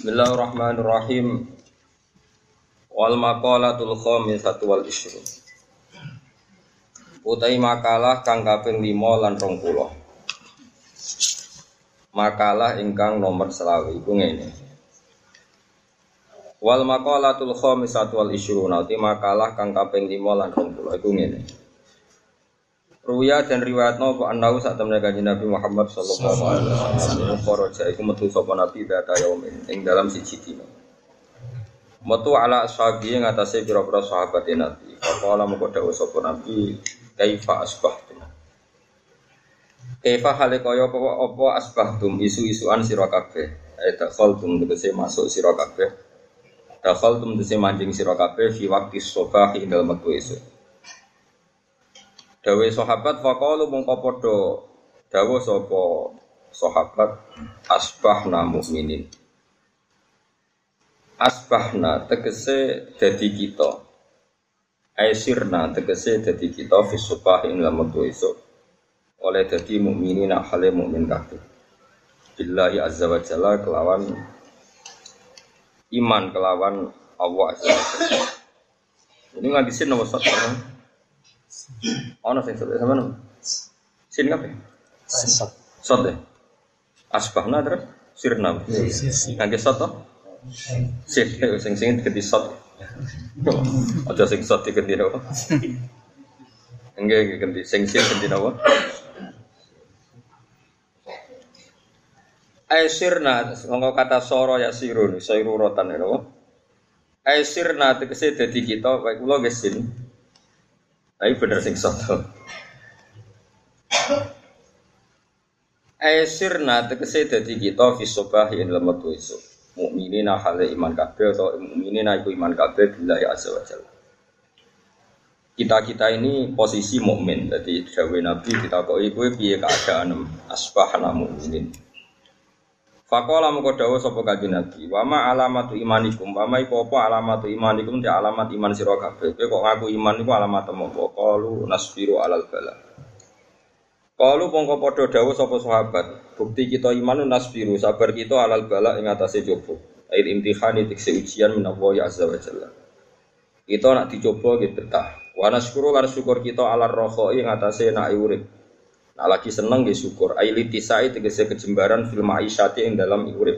Bismillahirrahmanirrahim. Wal maqalatul khamisatu wal ishrun. Utai makalah kang kaping 5 lan 20. Makalah ingkang nomor 20 iku ngene. Wal maqalatul khamisatu wal ishrun. Utai makalah kang kaping 5 lan 20 iku ngene. Ruya dan riwayatno kok anau sak temene Kanjeng Nabi Muhammad sallallahu alaihi wasallam kharaja iku metu sapa nabi data yaumin ing dalam siji dina. Metu ala ashabi ing atase pira-pira sahabat Nabi. Kala mengko dawuh sapa nabi kaifa asbahtum. Kaifa hale kaya apa asbahtum isu-isuan sira kabeh. Dakhaltum tegese masuk sira kabeh. Dakhaltum tegese manjing sira kabeh fi waqti subah ing dalem wektu esuk. Dawe sahabat faqalu mongko padha dawuh sapa sahabat asbahna mukminin. Asbahna tegese dadi kita. Aisirna tegese dadi kita fi subah ing dalem wektu esuk. Oleh dadi mukminin hale mukmin kabeh. Billahi azza wa jalla kelawan iman kelawan Allah azza wa jalla. Ini ngabisin nomor 1. Ono sing sot sampean. Sin kabeh. Sot deh. Asbahna terus sirna. Kangge sot to? Sing diganti sot. Aja sing sot diganti apa? Enggak ganti sing ganti apa? Aisirna nggo kata soro ya sirun, sayrurotan apa? Aisirna tegese dadi kita, wae kula nggih sin. Tapi bener sing soto. Aisirna tegese dadi kita fi subah ing dalem wektu esuk. Mukminina hale iman kabeh atau mukminina iku iman kabeh billahi azza wa jalla. Kita ini posisi mukmin. Dadi dawuh Nabi ditakoki kowe piye keadaan asbahna mukminin. Faqala mengko dawuh sapa Kanjeng Nabi, wa ma alamatu imanikum, wa ma iku apa alamatu imanikum, te alamat iman sira kabeh. Kowe kok ngaku iman iku alamat apa? Qalu nasbiru alal bala. Qalu mongko padha dawuh sapa sahabat, bukti kita iman nasbiru, sabar kita alal bala ing atase coba. Ail imtihani tikse ujian minallahi azza wa jalla. Kita nak dicoba nggih betah. Wa nasyukuru lan syukur kita alal rakhai ing atase nak urip. Nah, lagi seneng nggih syukur. Ailitisai tegese kejembaran fil ma'isyati ing dalam urip.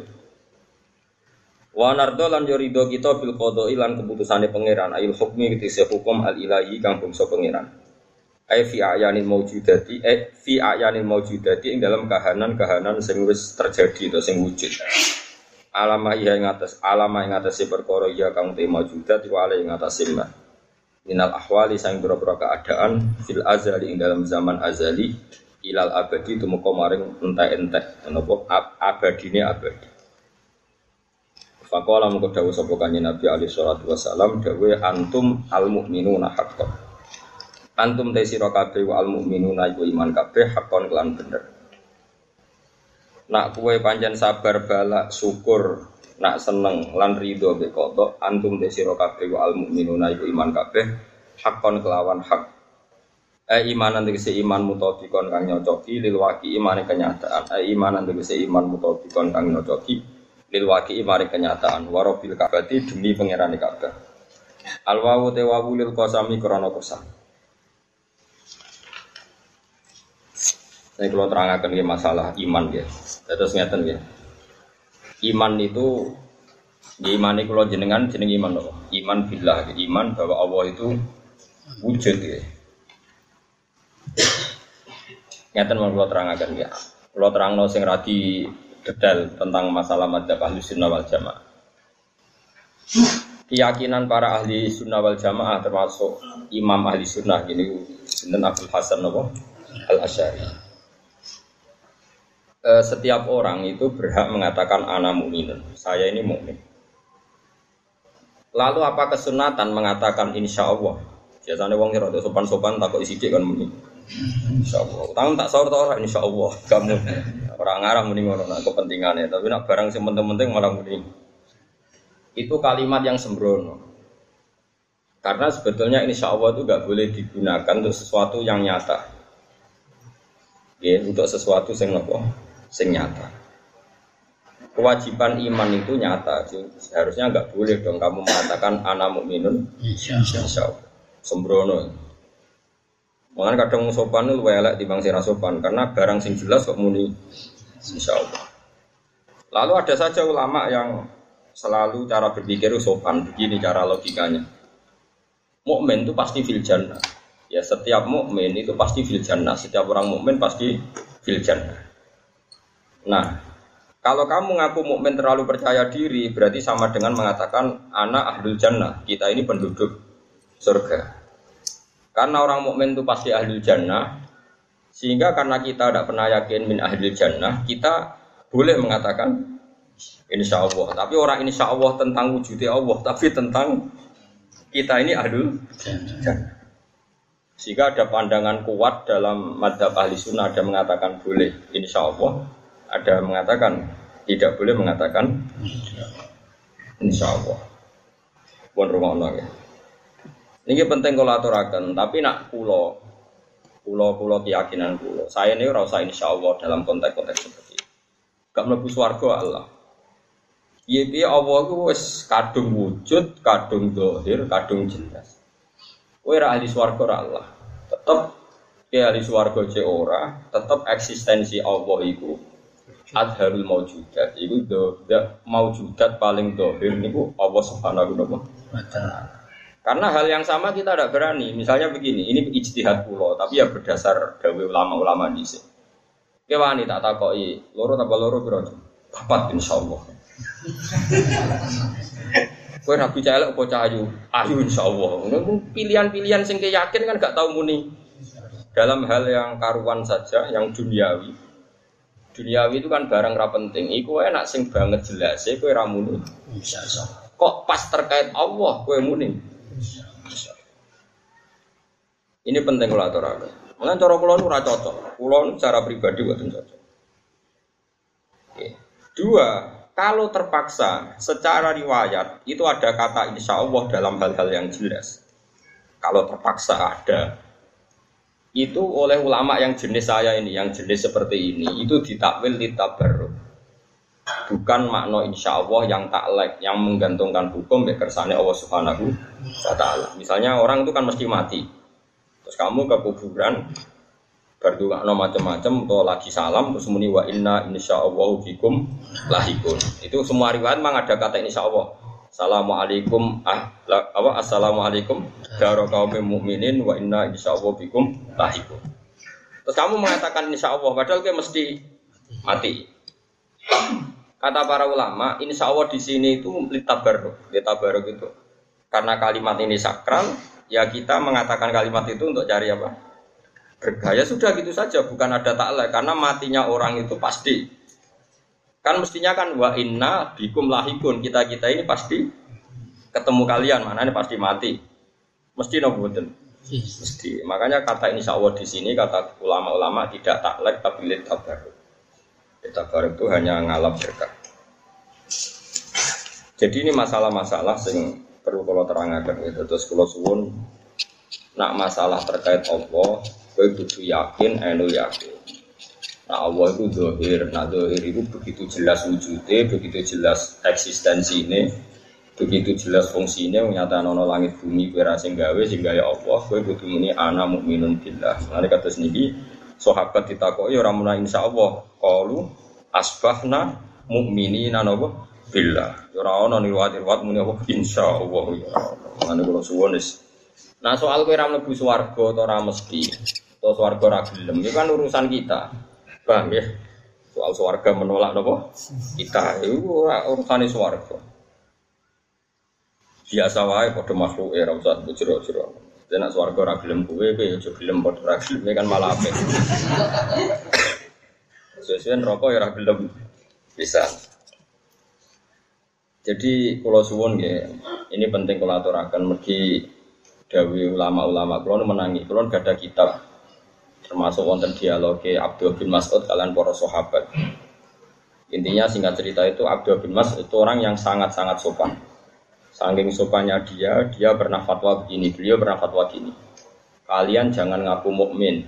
Wa nardo lan yo ridho kita bil qada'i lan keputusane pangeran. Ail hukmi tegese hukum al ilahi kang bangsa pangeran. Ai fi ayanil maujudati fi ayanil maujudati ing dalam kahanan-kahanan sing wis terjadi atau sing wujud. Alama ing atas perkara ya kang te maujudat wa ala ing atas ma. Minal ahwali sang boro-boro keadaan fil azali ing dalam zaman azali ilal abadi tumeka maring entek-entek menapa abadine abadi. Faqala mengko dawuh sapa Kanjeng Nabi alaihi salatu wasalam dawuh antum al mukminuna haqqan. Antum te sira kabeh wa al mukminuna iku iman kabeh haqqan kelan bener. Nak kowe pancen sabar balak syukur nak seneng lan ridho mek kodok antum te sira kabeh wa al mukminuna iku iman kabeh haqqan kelawan hak. Imanan tegese iman mutabikon kang nyocoki lil waqi imane kenyataan. Imanan tegese iman mutabikon kang nyocoki lil waqi imane kenyataan. Warabil kabati demi pangerane Ka'bah. Al wawu te wawu lil qasami krana qasam. Saya kalau terangkan nggih masalah iman nggih. Terus ngeten nggih. Iman itu iman kula jenengan jeneng iman apa? Iman billah, iman bahwa Allah itu wujud nggih. Ngeten mau kula terangaken ya. Kula terangno sing radi detail tentang masalah madzhab Ahlus Sunnah wal Jamaah. Keyakinan para ahli sunnah wal jamaah termasuk imam ahli sunnah gini sinten Abdul Hasan Al-Asy'ari. Setiap orang itu berhak mengatakan ana mukminun. Saya ini mukmin. Lalu apa kesunatan mengatakan insyaallah? Biasanya wong rada sopan-sopan takok sithik kan muni. Insyaallah. Tahu tak sahur ta ora insyaallah. Kamu ora ngarang muni ngono nak kepentingane, tapi nak barang sing penting-penting malah muni. Itu kalimat yang sembrono. Karena sebetulnya insyaallah itu enggak boleh digunakan untuk sesuatu yang nyata. Ya, untuk sesuatu sing apa? Sing nyata. kewajiban iman itu nyata. Seharusnya enggak boleh dong kamu mengatakan ana mukminun insyaallah. Sembrono. Makanya kadang sopan itu elek timbang sing sopan karena barang sing jelas kok muni insyaallah. Lalu ada saja ulama yang selalu cara berpikir sopan, begini cara logikanya. Mukmin itu pasti fil jannah. Ya setiap mukmin itu pasti fil jannah, setiap orang mukmin pasti fil jannah. Nah, kalau kamu ngaku mukmin terlalu percaya diri, berarti sama dengan mengatakan ana ahlul jannah. Kita ini penduduk surga. Karena orang mukmin itu pasti ahlul jannah, sehingga karena kita tidak pernah yakin min ahlul jannah, kita boleh mengatakan insya Allah. Tapi orang insya Allah tentang wujudnya Allah, tapi tentang kita ini ahlul jannah. Sehingga ada pandangan kuat dalam madzhab ahli sunnah, ada mengatakan boleh insya Allah, ada mengatakan tidak boleh mengatakan insya Allah. Pun rumah ya. Ini penting kalau aturakan, tapi nak pulau keyakinan pulau. Saya ini rasa insya Allah dalam konteks-konteks seperti ini. Gak mlebu swarga Allah. Piye Allah itu wis kadung wujud, kadung zahir, kadung jelas. Kowe ra ahli swarga ora Allah. Tetep ahli swarga ce ora, tetep eksistensi Allah iku adharul maujudat. Iku maujudat paling zahir niku Allah Subhanahu wa taala. Karena hal yang sama kita tidak berani. Misalnya begini, ini ijtihad kula, tapi ya berdasar dawuh ulama-ulama dhisik. Ki wani tak takoki, loro tambah loro piro? 4 insyaallah. Kowe rabi celek apa cahayu? Ayu insyaallah. Pilihan-pilihan sing yakin kan gak tau muni. Dalam hal yang karuan saja, yang duniawi. Duniawi itu kan barang ra penting. Iku enak sing banget jelas, kowe ra muni. Insyaallah. Kok pas terkait Allah kowe muni? Ini penting kalau aturaken. Mulane cara kula nu ora cocok. Kula nu cara pribadi mboten cocok. Oke. 2, kalau terpaksa secara riwayat itu ada kata insya Allah dalam hal-hal yang jelas. Kalau terpaksa ada, itu oleh ulama yang jenis saya ini, yang jenis seperti ini, itu ditakwil ditabarruk. Bukan makna insya Allah yang taklek, yang menggantungkan hukum kersane Allah Subhanahu wa taala. Misalnya orang itu kan mesti mati. Terus kamu ke kuburan berdua macam-macam atau lagi salam terus muni wa inna insyaallahu bikum lahikun. Itu semua riwayat memang ada kata insyaallah. Assalamualaikum assalamualaikum daro kaum mukminin wa inna insyaallahu bikum lahikun. Terus kamu mengatakan insyaallah padahal kayak mesti mati. Kata para ulama, insyaallah di sini itu litabarruk itu. Karena kalimat ini sakral, ya kita mengatakan kalimat itu untuk cari apa? Bergaya sudah gitu saja, bukan ada taklek karena matinya orang itu pasti. Kan mestinya kan wa inna bikum lahikun, kita ini pasti ketemu kalian, mana ini pasti mati. Mesti noboten. Mesti. Makanya kata insyaallah di sini kata ulama-ulama tidak taklek tapi litabarruk. Tabarruk itu hanya ngalap berkah. Jadi ini masalah-masalah yang perlu kalau terangkan gitu. Terus kalau suwun nak masalah terkait Allah, kowe kudu yakin, anu yakin. Nah Allah itu zahir, nah zahir itu begitu jelas wujudnya, begitu jelas eksistensi ini, begitu jelas fungsinya, menyatakan ono langit bumi kira sing gawe sehingga ya Allah, kowe kudu muni ana mukminun billah. Nanti kata sendiri, sahabat ditakoki ora muna insyaallah, qalu asbahna mukminina napa billah. Ora ono riwayat-riwayat muni apa insyaallah ya. Ngene kula suwun wis. Nah soal kowe ora mlebu swarga utawa ora mesti, utawa swarga ora gelem, itu kan urusan kita. Paham ya? Soal swarga menolak napa? Kita itu ora urusane swarga. Biasa wae padha makhluk ora usah jero-jero. Nek swarga ora gelem kowe ya aja gelem padha ora gelem kan malah apik. Sesuai rokok ya ora gelem bisa. Jadi kalau suwun ya, ini penting kalau aturaken mergi dawuh ulama-ulama. Kalau menangi, kalau gak ada kitab termasuk wonten dialog Abdul bin Mas'ud kalian para sahabat. Intinya singkat cerita itu Abdul bin Mas'ud itu orang yang sangat-sangat sopan. Saking sopannya dia pernah fatwa begini, beliau pernah fatwa gini. Kalian jangan ngaku mukmin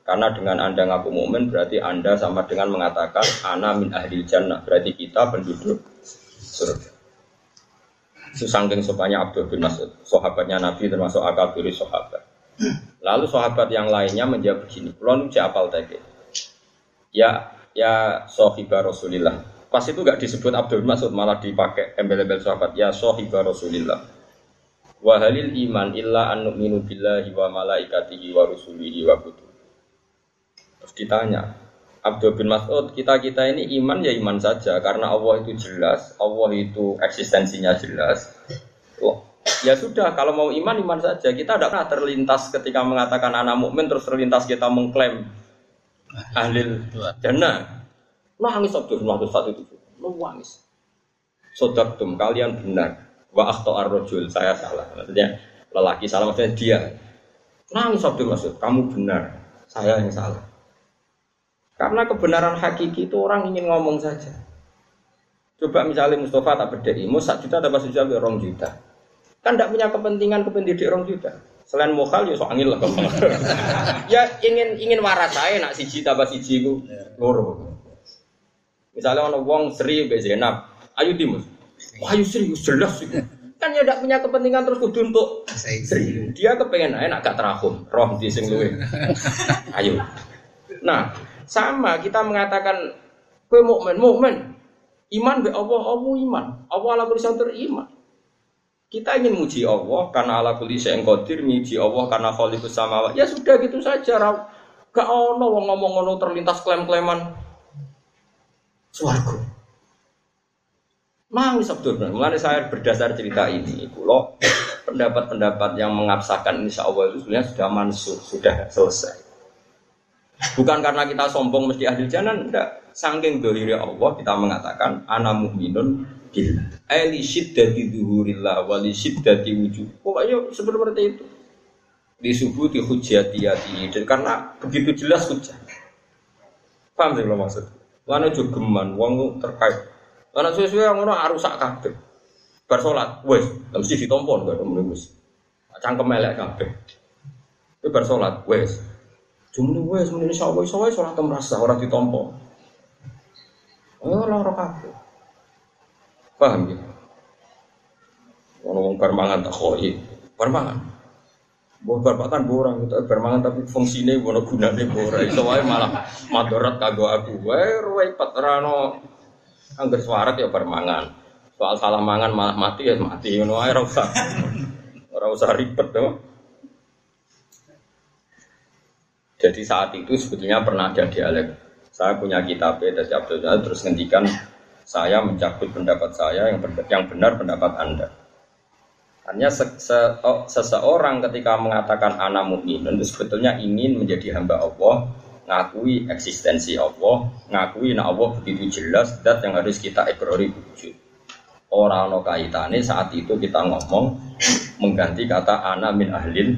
Karena dengan Anda ngaku mukmin berarti Anda sama dengan mengatakan ana min ahlil jannah, berarti kita penduduk surga. Saking sopanya Abdul bin Mas'ud, sahabatnya Nabi termasuk akabiri sahabat. Lalu sahabat yang lainnya menjawab begini, "Kulon uji apal teke." Ya sahibah Rasulillah. Pas itu enggak disebut Abdul bin Mas'ud, malah dipakai embel-embel sahabat, ya sahibah Rasulillah. Wa halil iman illa an nu'minu billahi wa malaikatihi wa rusulihi wa kutubihi. Terus ditanya, Abdul bin Mas'ud, kita ini iman ya iman saja karena Allah itu jelas, Allah itu eksistensinya jelas. Oh, ya sudah, kalau mau iman saja. Kita tidak pernah terlintas ketika mengatakan anak mukmin terus terlintas kita mengklaim ahlil jannah. Nangis Abdul bin Mas'ud saat itu, nangis. Sodaqtum, kalian benar. Wa akhta ar-rajul, saya salah. Maksudnya lelaki salah, maksudnya dia. Nangis Abdul bin Mas'ud, kamu benar, saya yang salah. Karena kebenaran hakiki itu orang ingin ngomong saja. Coba misalnya Mustafa tak berdiri, mau 1 juta dapat 1 juta, 2 juta. Kan tidak punya kepentingan kependidik 2 juta. Selain mokal ya soangil lah. Ya ingin waras saya nak siji tambah siji ku loro. Misalnya orang wong Sri be Zainab, ayo Dimus. Wah, ayo serius jelas sih. Kan ya tidak punya kepentingan terus kudu untuk Sri. Dia kepengen ae nak gak terahum, roh di sing luwe. Ayo. Nah, sama kita mengatakan kowe mukmin. Iman be Allah iman. Allah ala kulli syai'in iman. Kita ingin muji Allah karena ala kulli syai'in qadir, muji Allah karena khaliqus samawati. Ya sudah gitu saja. Gak ono wong ngomong ngono terlintas klaim-klaiman swarga. Nangis Abdul. Mulane saya berdasar cerita ini, kula pendapat-pendapat yang mengabsahkan insyaallah itu sebenarnya sudah mansuh, sudah selesai. Bukan karena kita sombong mesti ahli jannah, enggak. Saking dzahire Allah kita mengatakan ana mukminun billah. Ai syiddati dzuhurillah wa li syiddati wujud. Pokoknya seperti itu. Disubuti hujjatiyati. Karena begitu jelas hujjah. Paham sih lo maksud? Lan aja geman wong terkait. Lan sesuai ngono arusak kabeh. Bar salat wis mesti ditampa kok wis. Cangkem elek kabeh. Itu bar salat wis. Jumlah wes muni insyaallah salat merasa ora ditampa. Oh lara kabeh. Paham ya? Ono wong bar mangan tak khoi. Bar mangan. Mbok bar makan borang itu bar mangan tapi fungsine ono gunane ora. Iso wae malah madarat kanggo aku. Wae repot ora ono angger swarat ya bar mangan. Soal salah mangan malah mati ya mati ngono wae ora usah. Ora usah ribet to. Jadi saat itu sebetulnya pernah ada dialog. Saya punya kitab dari Abdul Jannah terus ngendikan saya mencabut pendapat saya yang benar pendapat Anda. Hanya seseorang ketika mengatakan ana mukminun itu sebetulnya ingin menjadi hamba Allah, ngakui eksistensi Allah, ngakui nek Allah begitu jelas zat yang harus kita ikrari wujud. Ora ana kaitane saat itu kita ngomong mengganti kata ana min ahlil.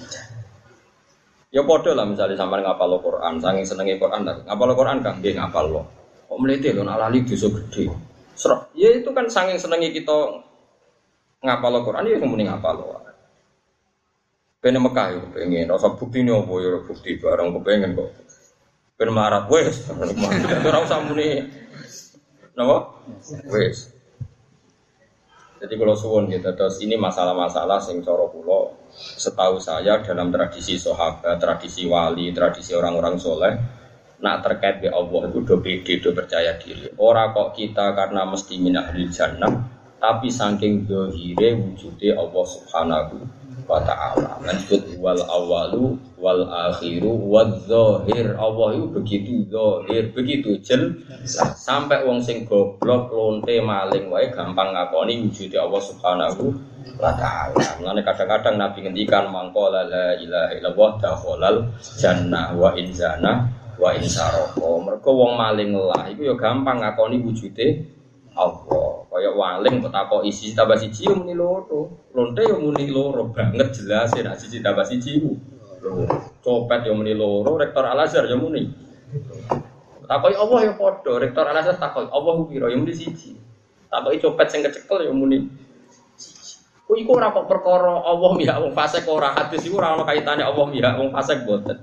Ya padha lah misalnya sampean ngapal Al-Qur'an, saking senenge Qur'an ta. Ngapal Qur'an kan nggih ngapal lo. Kok mlete lho nak lali dosa gedhe. Srek. Ya itu kan saking senenge kita ngapal Al-Qur'an ya muni ngapal lo. Ben Mekah yo pengen rasa buktine opo ya bukti bareng kepengen kok. Ben marat wis. Ora usah muni. Napa? Wis. Jadi kalau suwun gitu, terus ini masalah-masalah sing cara kula setahu saya dalam tradisi sahabat, tradisi wali, tradisi orang-orang soleh, nak terkait dengan Allah itu do pede, do percaya diri. Ora kok kita karena mesti min ahlil jannah, tapi saking zahire wujude Allah Subhanahu wa ta'ala. Lanjut wal awalu wal akhiru wal zahir. Allah itu begitu zahir, begitu jelas. Sampai wong sing goblok, lonte, maling wae gampang ngakoni wujude Allah Subhanahu wa ta'ala. Mulane kadang-kadang Nabi ngendikan mangko la ilaha illallah dakhalal jannah wa in zana wa in sarqa. Mergo wong maling lah iku ya gampang ngakoni wujude Allah. Kaya waling kok takoki siji tambah siji yo muni loro. Lonte yo muni loro banget jelas nek siji tambah siji ku. Copet yo muni loro, rektor Al-Azhar yo muni. Takoki Allah yo padha, rektor Al-Azhar takoki Allah ku pira yo muni siji. Takoki copet sing kecekel yo muni siji. Ku iku ora kok perkara Allah mihak wong fasik ora hadis iku ora ana kaitane Allah mihak wong fasik boten.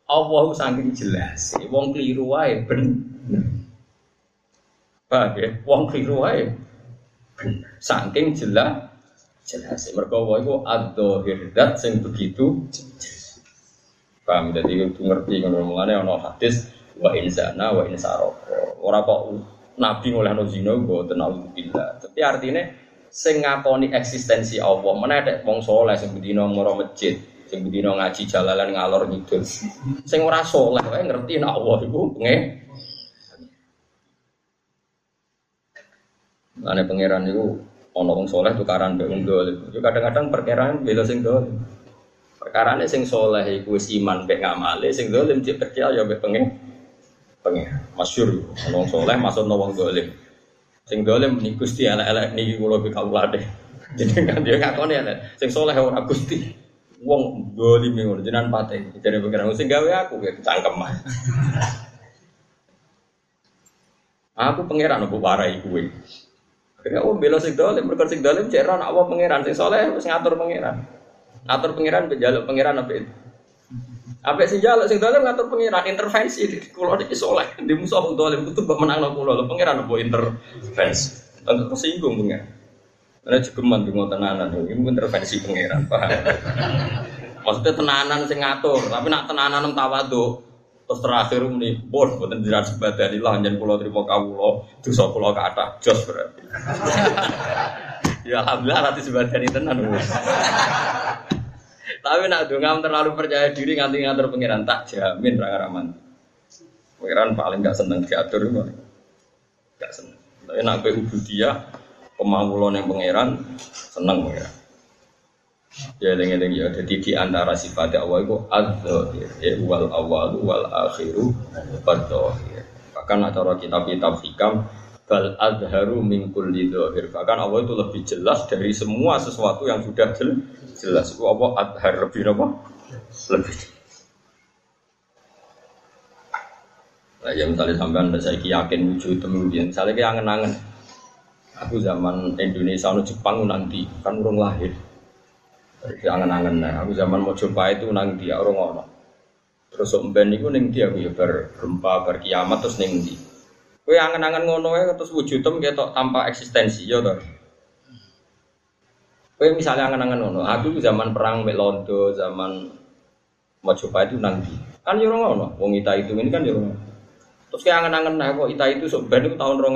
Allah saking jelas. Wong keliru wae bener. Paham ya? Wong keliru wae bener. Saking jelas. Mergo wae iku adzahir zat sing begitu. Paham dadi kudu ngerti ngono mulane ana hadis wa insana wa insaraka. Ora kok nabi ngolehno zina mboten auzubillah. Tapi artine sing ngakoni eksistensi Allah meneh nek wong saleh sing bendina mara masjid, sing bendina ngaji jalalan ngalor ngidul. Sing ora saleh wae ngerti nek Allah iku Ane pangeran itu ana wong saleh tukaran mbek wong dolim. Yo kadang-kadang perkiraan bela sing dolim. Perkarane sing saleh iku wis iman mbek ngamale, sing dolim cek percaya mbek pengen. Masyhur ana wong saleh maksudna wong dolim. Sing dolim ni Gusti elek-elek niki kula be kawulane. Jenengan dia ngakoni elek. Sing saleh ora Gusti. Wong dolim ngono jenengan pate. Jare pangeran sing gawe aku ya cangkeman. Aku pangeran opo warai kowe. Kaya bela sing dolim, mergo sing dolim cek ora apa pangeran, sing saleh wis ngatur pangeran. Ngatur pangeran mbek njaluk pangeran apa itu? Apa sing njaluk sing dolim ngatur pangeran intervensi kula iki saleh, ndi musuh wong dolim kudu mbok menangno kula lho pangeran apa intervensi. Tentu tersinggung pangeran. Ana jegeman di tenanan iki intervensi pangeran, paham. Maksudnya tenanan sing ngatur, tapi nak tenanan tawadhu. Terus terakhir muni, bon, boten jiran sebadanilah njen kula trimo kawula, dosa kula kathah jos berarti. Ya alhamdulillah ati sebadani tenan. Tapi nak dongam terlalu percaya diri nganti ngatur pangeran tak jamin ra ngaraman. Pangeran paling gak seneng diatur iku. Gak seneng. Tapi nak pe ubudiyah kemawulan yang pangeran seneng pangeran. Ya eling-eling ya dadi di antara sifat Allah itu adzahir ya wal awwal wal akhiru wadh-dhahir. Bahkan acara kitab-kitab hikam bal adharu min kulli dhahir. Bahkan Allah itu lebih jelas dari semua sesuatu yang sudah jelas. Itu apa adhar lebih apa? Lebih. Nah, ya misalnya sampean saiki yakin wujud temu biyen, misalnya ki angen-angen. Aku zaman Indonesia no Jepang nanti kan urung lahir. Jadi angen-angen nah, aku zaman mau coba itu nang dia orang ngono. Terus omben niku ning dia aku ya bar gempa, bar kiamat terus ning ndi. Kowe angen-angen ngono wae terus wujudem ketok tanpa eksistensi ya to. Kowe misalnya angen-angen ngono, aku zaman perang mek Londo, zaman mau coba itu nang ndi. Kan yo ora ngono, wong Ita itu ini kan yo ora. Terus kowe angen-angen nah kok Ita itu sok ben itu tahun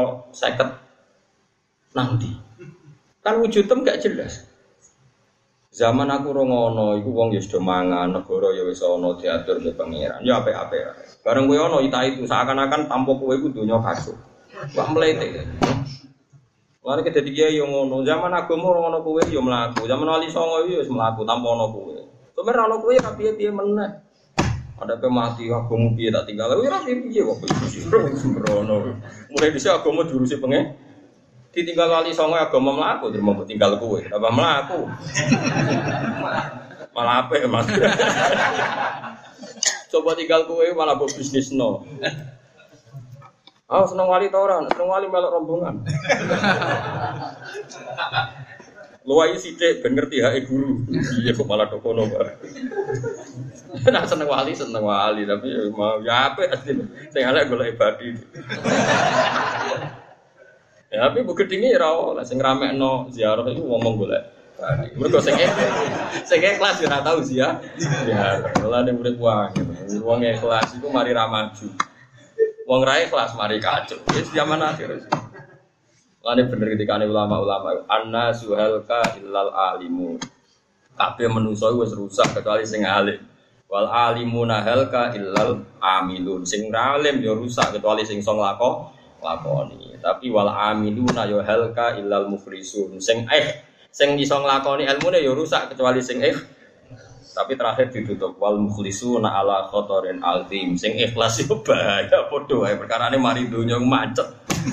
2050 nang ndi. Kan wujudem gak jelas. Zaman aku rongono, iku wong ya sudah mangan, negara ya wis ana diatur mbek pangeran. Ya apik-apik. Bareng kowe ana Ita itu seakan-akan tanpa kowe iku donya kacau. Wah mlete. Lare kedadi kiai yo ngono. Zaman agama ora ana kowe yo mlaku. Zaman wali songo yo wis mlaku tanpa ana kowe. Sebenarnya ana kowe ra piye-piye meneh. Ada pe mati agama piye tak tinggal. Ora piye kok sembrono. Mulai dhisik agama diurusi pengen. Ditinggal wali songo agama mlaku, terus mau tinggal kowe, apa mlaku? Malah apik, Mas. Coba tinggal kowe malah mbok bisnisno. Ah, seneng wali ta ora? Seneng wali melok rombongan. Luwai sithik ben ngerti hake guru. Iya kok malah dokono bareng. Nah seneng wali tapi mau ya apik asline. Sing elek golek ibadi. Ya tapi bu gedinge ora oleh sing ramekno ziarah iku ngomong golek. Mergo sing ikhlas ora tau ziarah. Ya, lha nek urip wae. Wong ikhlas iku mari ra maju. Wong ra ikhlas mari kacau. Wis zaman akhir. Lane bener ketikane ulama-ulama annasu halka illal alimun. Kabeh manusa wis rusak kecuali sing alim. Wal alimuna halka illal amilun. Sing alim ya rusak kecuali sing iso lakoni. Tapi wal amiluna ya halka illal muflisun. Sing iso nglakoni ilmune ya rusak kecuali sing tapi terakhir ditutup wal muflisuna ala khotorin altim. Sing ikhlas yo bahaya padha wae perkarane mari donya macet.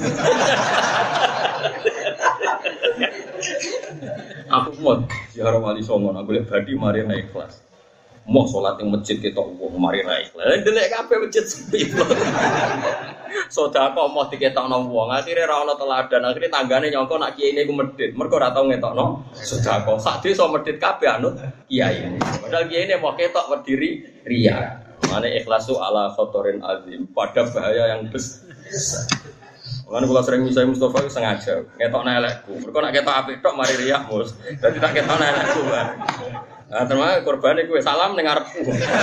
Aku mau ziarah wali songo nak golek badi mari ra ikhlas. Mau salat ning masjid ketok wong mari ra ikhlas. Delek kabeh masjid sepi. Sedekah mau diketokno wong, akhire ra ono teladan, akhire tanggane nyangka nak kiyaine iku medhit. Mergo ora tau ngetokno sedekah. Sak desa medhit kabeh anut kiyaine. Padahal kiyaine mau ketok berdiri riya. Mane ikhlas itu ala khotorin azim, pada bahaya yang besar. Kan kula sering misai Mustafa itu sengaja ngetokno elekku. Mergo nek ketok apik tok mari riak, Mus. Dadi tak ketokno elekku. Nah, termasuk korbane kowe salam ning ngarepku.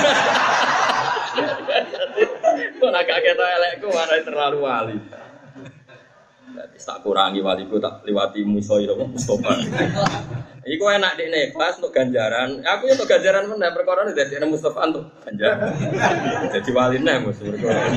Kok nak ketok elekku marai terlalu wali. Dadi tak kurangi waliku tak liwati musoi Mustafa. Iku enak dekne kelas untuk ganjaran. Aku ya untuk ganjaran meneh perkara dadi Mustafa untuk ganjaran. Jadi waline Mus perkara.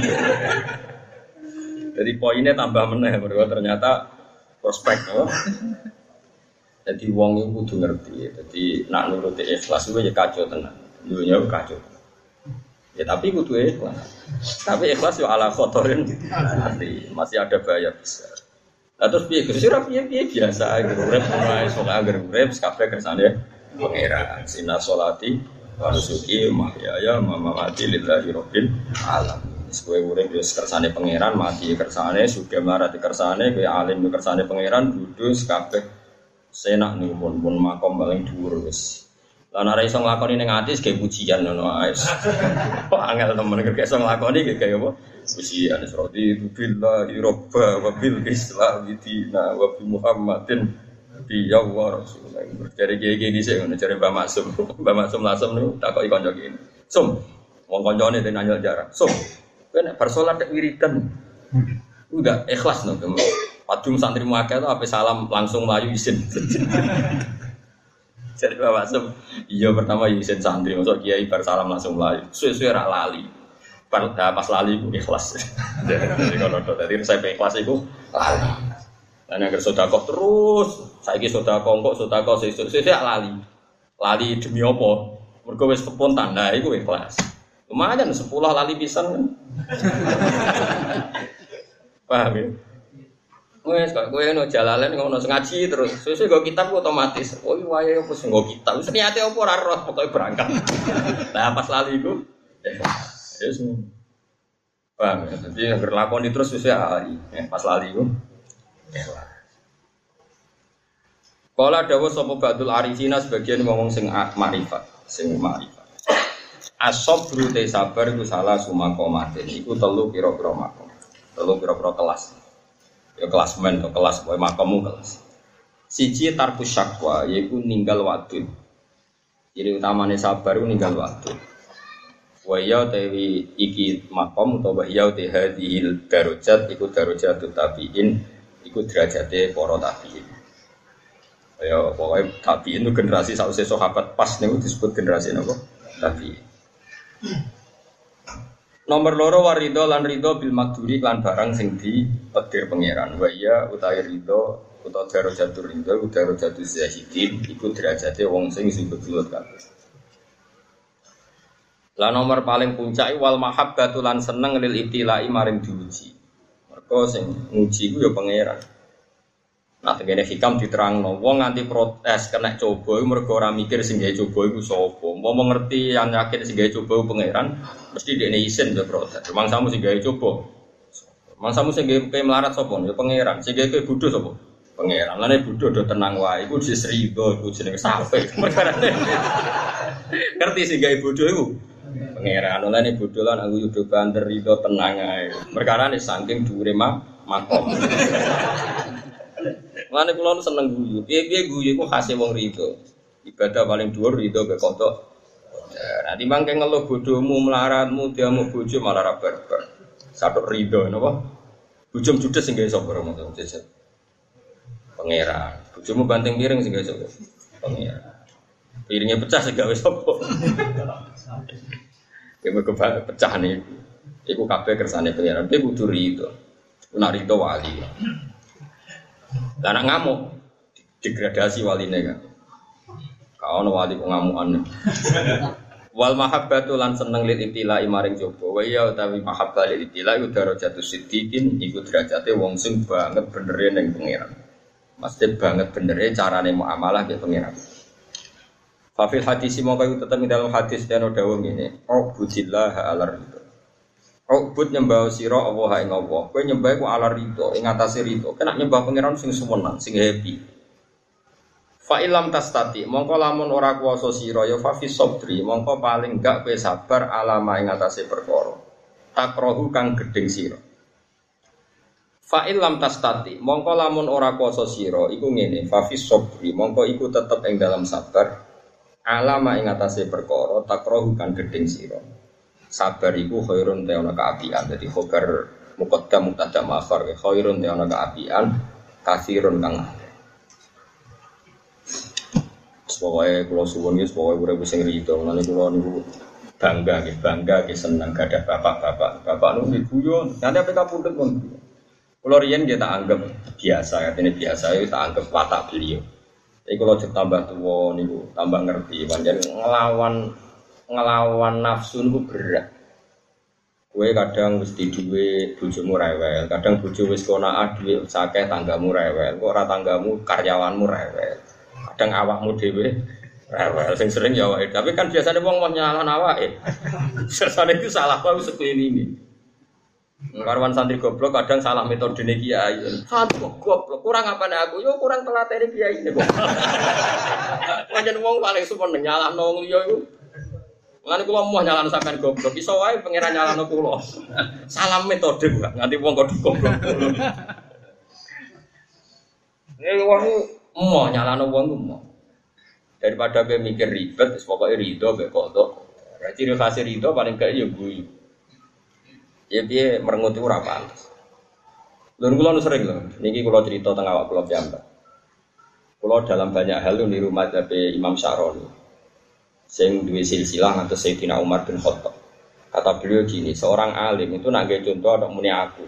Jadi poinnya tambah meneh mergo ternyata prospek oh. Jadi wong iku kudu ngerti. Jadi nak nuruti ikhlas itu ya kacau tenan. Dunya kacau. Ya tapi kudu ikhlas. Tapi ikhlas yo ala khotorin nanti masih ada bahaya besar. Lah terus piye Gus? Ora piye biasa urip mulai sok anger urip kabeh kersane pangeran. Sina sholati wa nusuki mahyaya mamati lillahi rabbil alamin. Kowe urip yo kersane pangeran, mati kersane, sugih marati kersane, kowe alim yo kersane pangeran, kudus kabeh senak niku pun makom paling dhuwur wis. Lah nek ora iso nglakoni ning ati ge pujian ngono ae. Kok angel temen nek iso nglakoni ge kaya apa? Pujian radi billahi robba wa bil islam dina wa bi Muhammadin bi ya rasulullah. Dari gege dhisik ngono jare Mbah Maksum. Mbah Maksum lasem niku takoki kanca kene. Sum, wong kancane nanya jarak. Sum, kowe nek bar salat nek wiridan. Enggak ikhlas no. Padung santri muakeh itu apa salam langsung melayu izin. Jadi Bapak Sem, iya pertama izin santri, masuk kiai bar salam langsung melayu. Suwe-suwe rak lali. Pas lali itu ikhlas. Jadi kalau tadi saya ikhlas itu lali. Dan yang bersodakoh terus, saya ini sodakoh saya lali. Lali demi apa? Mereka wis kepontan, nah itu ikhlas. Lumayan 10 lali pisan kan. Paham ya? Wes kok kowe ono jalalan ngono ngaji terus. Sesuk go kitab otomatis. Oh iya wae opo sing go kitab. Wis niate opo ora roh pokoke berangkat. Lah pas lali iku ya semua. Paham ya? Jadi agar lakoni terus wis ahli. Pas lali iku. Kala dawuh sapa Ba'dul Arifina sebagian ngomong sing makrifat, As-sabru te sabar iku salah sumakomatin. Iku telu pira-pira makom. Telu pira-pira kelas. Ya kelas men atau kelas boy makamu kelas. Siji tarkus syakwa yaitu ninggal wadud. Jadi utamanya sabar itu ninggal wadud. Waya tewi iki makom atau waya te hadhil darajat iku darajatut tabiin iku derajate para tabiin. Ya pokoknya tabiin itu generasi sausé sahabat pas niku disebut generasi napa? Tabiin. Nomor loro warido lan rido bil makduri lan barang sing dipedir pangeran. Wa iya utawi rido utawa darajatur rido utawa darajatul zahidin iku derajate wong sing betul kabeh. Lah nomor paling puncak wal mahabbatu lan seneng lil ibtilai maring diuji. Mergo sing nguji iku ya pangeran. Nah tengene hikam diterangno wong nganti protes kena coba iku mergo ora mikir sing gawe coba iku sapa. Mau ngerti yang yakin sing gawe coba pangeran mesti dekne isin yo protes. Mangsamu sing gawe coba. Mangsamu sing gawe melarat sapa? Ya pangeran. Sing gawe bodho sapa? Pangeran. Lane bodho do tenang wae iku disrido iku jenenge sampe. Perkarane. Ngerti sing gawe bodho iku pangeran. Lane bodho lan aku yo banter rido tenang ae. Perkarane saking dhuwure makom. Mane kula seneng guyu. Piye-piye guyu iku khase wong rido. Ibadah paling dhuwur rido be kodok. Nah, timbang keng ngeluh bodohmu melaratmu diamu bojo malah ra barbar. Satuk rido napa? Bojomu judes sing gawe sapa romo jajan. Pangeran. Bojomu banting piring sing gawe sapa? Pangeran. Piringnya pecah sing gawe sapa? Kemo pecah niku. Iku kabeh kersane pangeran. Piye kudu rido. Nek rido wali. Lah nek ngamuk degradasi waline kan. Ka ono wali kok ngamukan. Wal mahabbatu lan seneng lil ibtilai maring coba. Wa ya utawi mahabbah lil ibtilai darajatus siddiqin iku derajate wong sing banget benere ning pangeran. Mesti banget benere carane muamalah ke pangeran. Fa fil hadis mongko tetep ing dalam hadis dene dawuh ngene. Ubudillah ala ridho. Ubud nyembah sira Allah ing Allah. Kowe nyembah ku ala ridho ing atase ridho. Kena nyembah pangeran sing suwenang, sing happy. Fa ilam tastati mongko lamun ora kuwasa sira ya fa fi sabri mongko paling gak kowe sabar alama ing atase perkara takrohu kang gedeng sira. Fa ilam tastati mongko lamun ora kuwasa sira iku ngene fa fi sabri mongko iku tetep ing dalam sabar alama ing atase perkara takrohu kang gedeng sira. Sabar iku khairun te ana kaapian dadi khobar muqaddam mubtada ma'khar khairun te ana kaapian kasirun kang pokoknya kalau suwun ini pokoknya udah bisa ngerido nanti kalau niku bangga senang gak ada bapak nunggu guyon nanti apa kamu pun pun kalau Rian dia tak anggap biasa katanya biasa itu tak anggap watak beliau tapi kalau tambah tua niku tambah ngerti panjang ngelawan nafsu niku berat gue kadang mesti duwe bojomu rewel kadang bojo wis konaa duwe sakeh tanggamu rewel kok ora tanggamu karyawanmu rewel kadang awakmu dhewe rewel sing sering ya awake tapi kan biasanya wong nyalahan awake sesane itu salah wae sekelilingi karwan santri goblok kadang salah metodene kiai santri goblok kurang apane aku yo kurang telatene kiai ne kok pancen wong paling seneng nyalahno liya iku ngene kula mau nyalahno sampean goblok iso wae pangeran nyalahno kula salah metode kok nganti wong kok goblok nek wong mau nyalano wong mau daripada kowe mikir ribet wis pokoke rido mek kodok. Ciri khas rido paling gak ya guyu. Ya piye merengut ora pantes. Lha kula nu sering lho niki kula cerita teng awak kula piyambak. Kula dalam banyak hal niru madzhab Imam Syaroni. Sing duwe silsilah ngantos Sayyidina Umar bin Khattab. Kata beliau gini, seorang alim itu nak gawe contoh ada muni aku.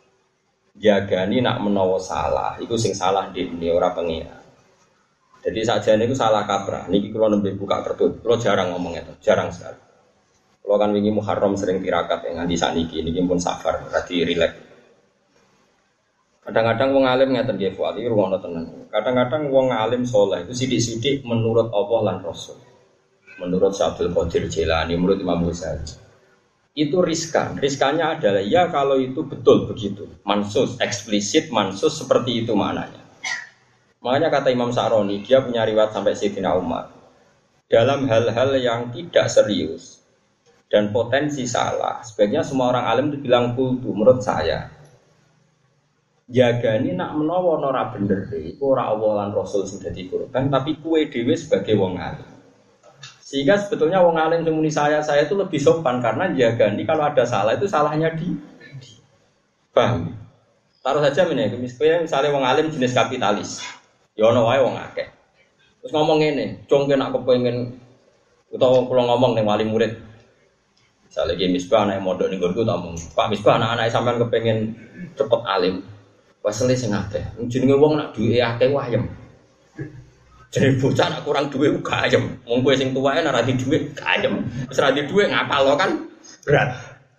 Jagani nak menawa salah, iku sing salah dene ora pengira. Jadi sajane iku salah kaprah. Niki kula nembe buka kertu. Kula jarang ngomong itu, jarang sekali. Kula kan wingi Muharram sering tirakat nganti sakniki niki pun safar, berarti rileks. Kadang-kadang wong alim ngeten nggih Fuad iki ruwono tenan. Kadang-kadang wong alim saleh itu sithik-sithik menurut Allah lan Rasul. Menurut Abdul Qadir Jilani, menurut Imam Ghazali. Itu riskan. Riskannya adalah ya kalau itu betul begitu. Mansus, eksplisit, mansus seperti itu maknanya. Makanya kata Imam Syaroni, dia punya riwayat sampai Sayyidina Umar. Dalam hal-hal yang tidak serius dan potensi salah, sebaiknya semua orang alim itu bilang kultu, menurut saya. Jagani nak menawa ora bener iku ora Allah lan Rasul sing dadi korban, tapi kue dhewe sebagai wong alim. Sehingga sebetulnya wong alim semuni saya itu lebih sopan karena jagani kalau ada salah itu salahnya di paham. Taruh saja misalnya wong alim jenis kapitalis. Ya ono wae wong akeh. Terus ngomong ngene, "Cung nek aku pengen utawa kula ngomong ning wali murid. Misale iki Misbah anak mondok ning nggonku tak omong, "Pak Misbah anak-anak sampean kepengin cepet alim." Wasele sing akeh. Jenenge wong nak duwe akeh wayem. Jadi bocah nak kurang duit gak ayem. Wong kowe sing tuwae nek ora di dhuwit gak ayem. Wis ora di dhuwit ngapal kan berat.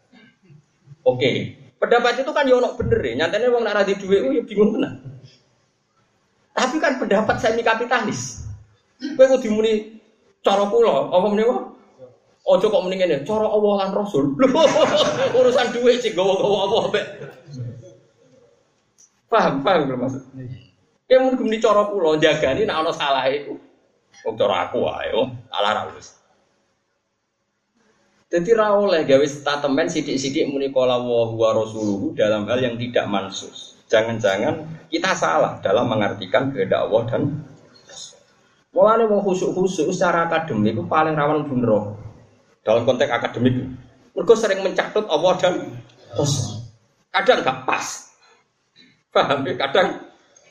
Oke. Pendapat itu kan yo ono bener e. Nyatane wong nek ora di dhuwit yo bingung tenan. Tapi kan pendapat semi kapitalis. Kowe kudu muni cara kula, apa meneh wae? Aja kok muni ngene, cara Allah lan Rasul. Urusan dhuwit sing gowo-gowo apa mbek. Paham lho maksud. Ya mungkin di cara kula jagani nek ana salah iku. Wong cara aku wae yo, salah ra wis. Dadi ra oleh gawe statement sithik-sithik muni qala wa rasuluhu dalam hal yang tidak mansus. Jangan-jangan kita salah dalam mengartikan kehendak Allah dan mulane wong khusuk-khusuk secara akademik itu paling rawan bener. Dalam konteks akademik. Mergo sering mencatut Allah dan Rasul. Kadang enggak pas. Paham ya? Kadang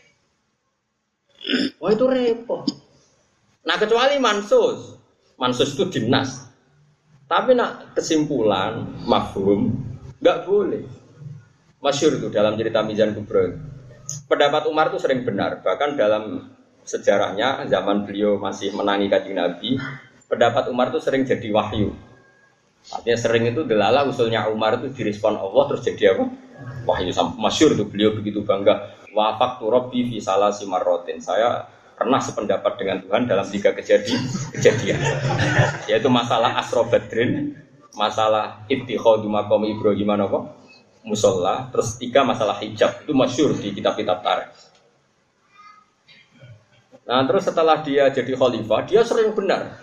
wah itu repot. Nah kecuali mansus itu dinas. Tapi nak kesimpulan mafhum nggak boleh. Masyhur itu dalam cerita Mizan Kubra. Pendapat Umar itu sering benar. Bahkan dalam sejarahnya zaman beliau masih menangi Kanjeng Nabi, pendapat Umar itu sering jadi wahyu. Artinya sering itu delala usulnya Umar itu direspon Allah terus jadi apa? Wahyu. Masyhur itu beliau begitu bangga. Wafaqtu Rabbi fi salasi marratin. Saya pernah sependapat dengan Tuhan dalam 3 kejadian. Yaitu masalah Asra Badrin, masalah ittikhadhu maqam Ibrahim apa? Musalla, terus 3 masalah hijab. Itu masyhur di kitab-kitab tarikh. Nah, terus setelah dia jadi khalifah, dia sering benar.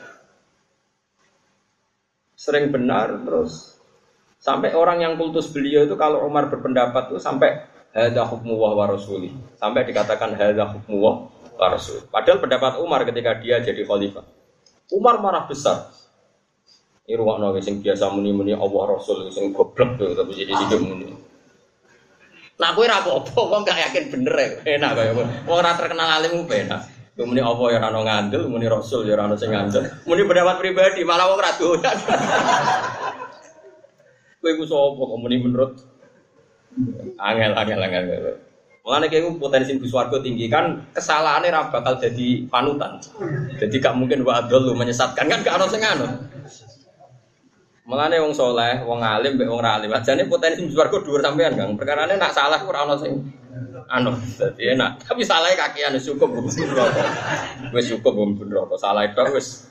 Sering benar terus sampai orang yang kultus beliau itu kalau Umar berpendapat itu sampai hadza hukmu wa rasuli. Sampai dikatakan hadza hukmu wa rasul. Padahal pendapat Umar ketika dia jadi khalifah. Umar marah besar. Ini ruwakno sing biasa muni-muni Allah Rasul sing goblok tuh tapi jadi sithik muni. Nah, kowe ora apa-apa, wong gak yakin bener ya. Enak kaya wong ora terkenal alim ku enak. Muni apa ya ora ono ngandel, muni Rasul ya ora ono sing ngandel. Muni pendapat pribadi malah wong ora doyan. Kowe ku sapa kok muni menurut angel. Mulane kowe potensi mlebu swarga tinggi kan kesalahannya ora bakal jadi panutan. Jadi gak mungkin wa adul menyesatkan kan gak ono sing ngono. Mulane wong saleh, wong alim mbek wong ra alim, ajane potensi mlebu swarga dhuwur sampean, Kang. Perkarane nak salah ora ono sing dadi enak. Tapi salahnya kakean wis cukup mlebu neraka. Wis cukup mlebu neraka. Salah tok wis.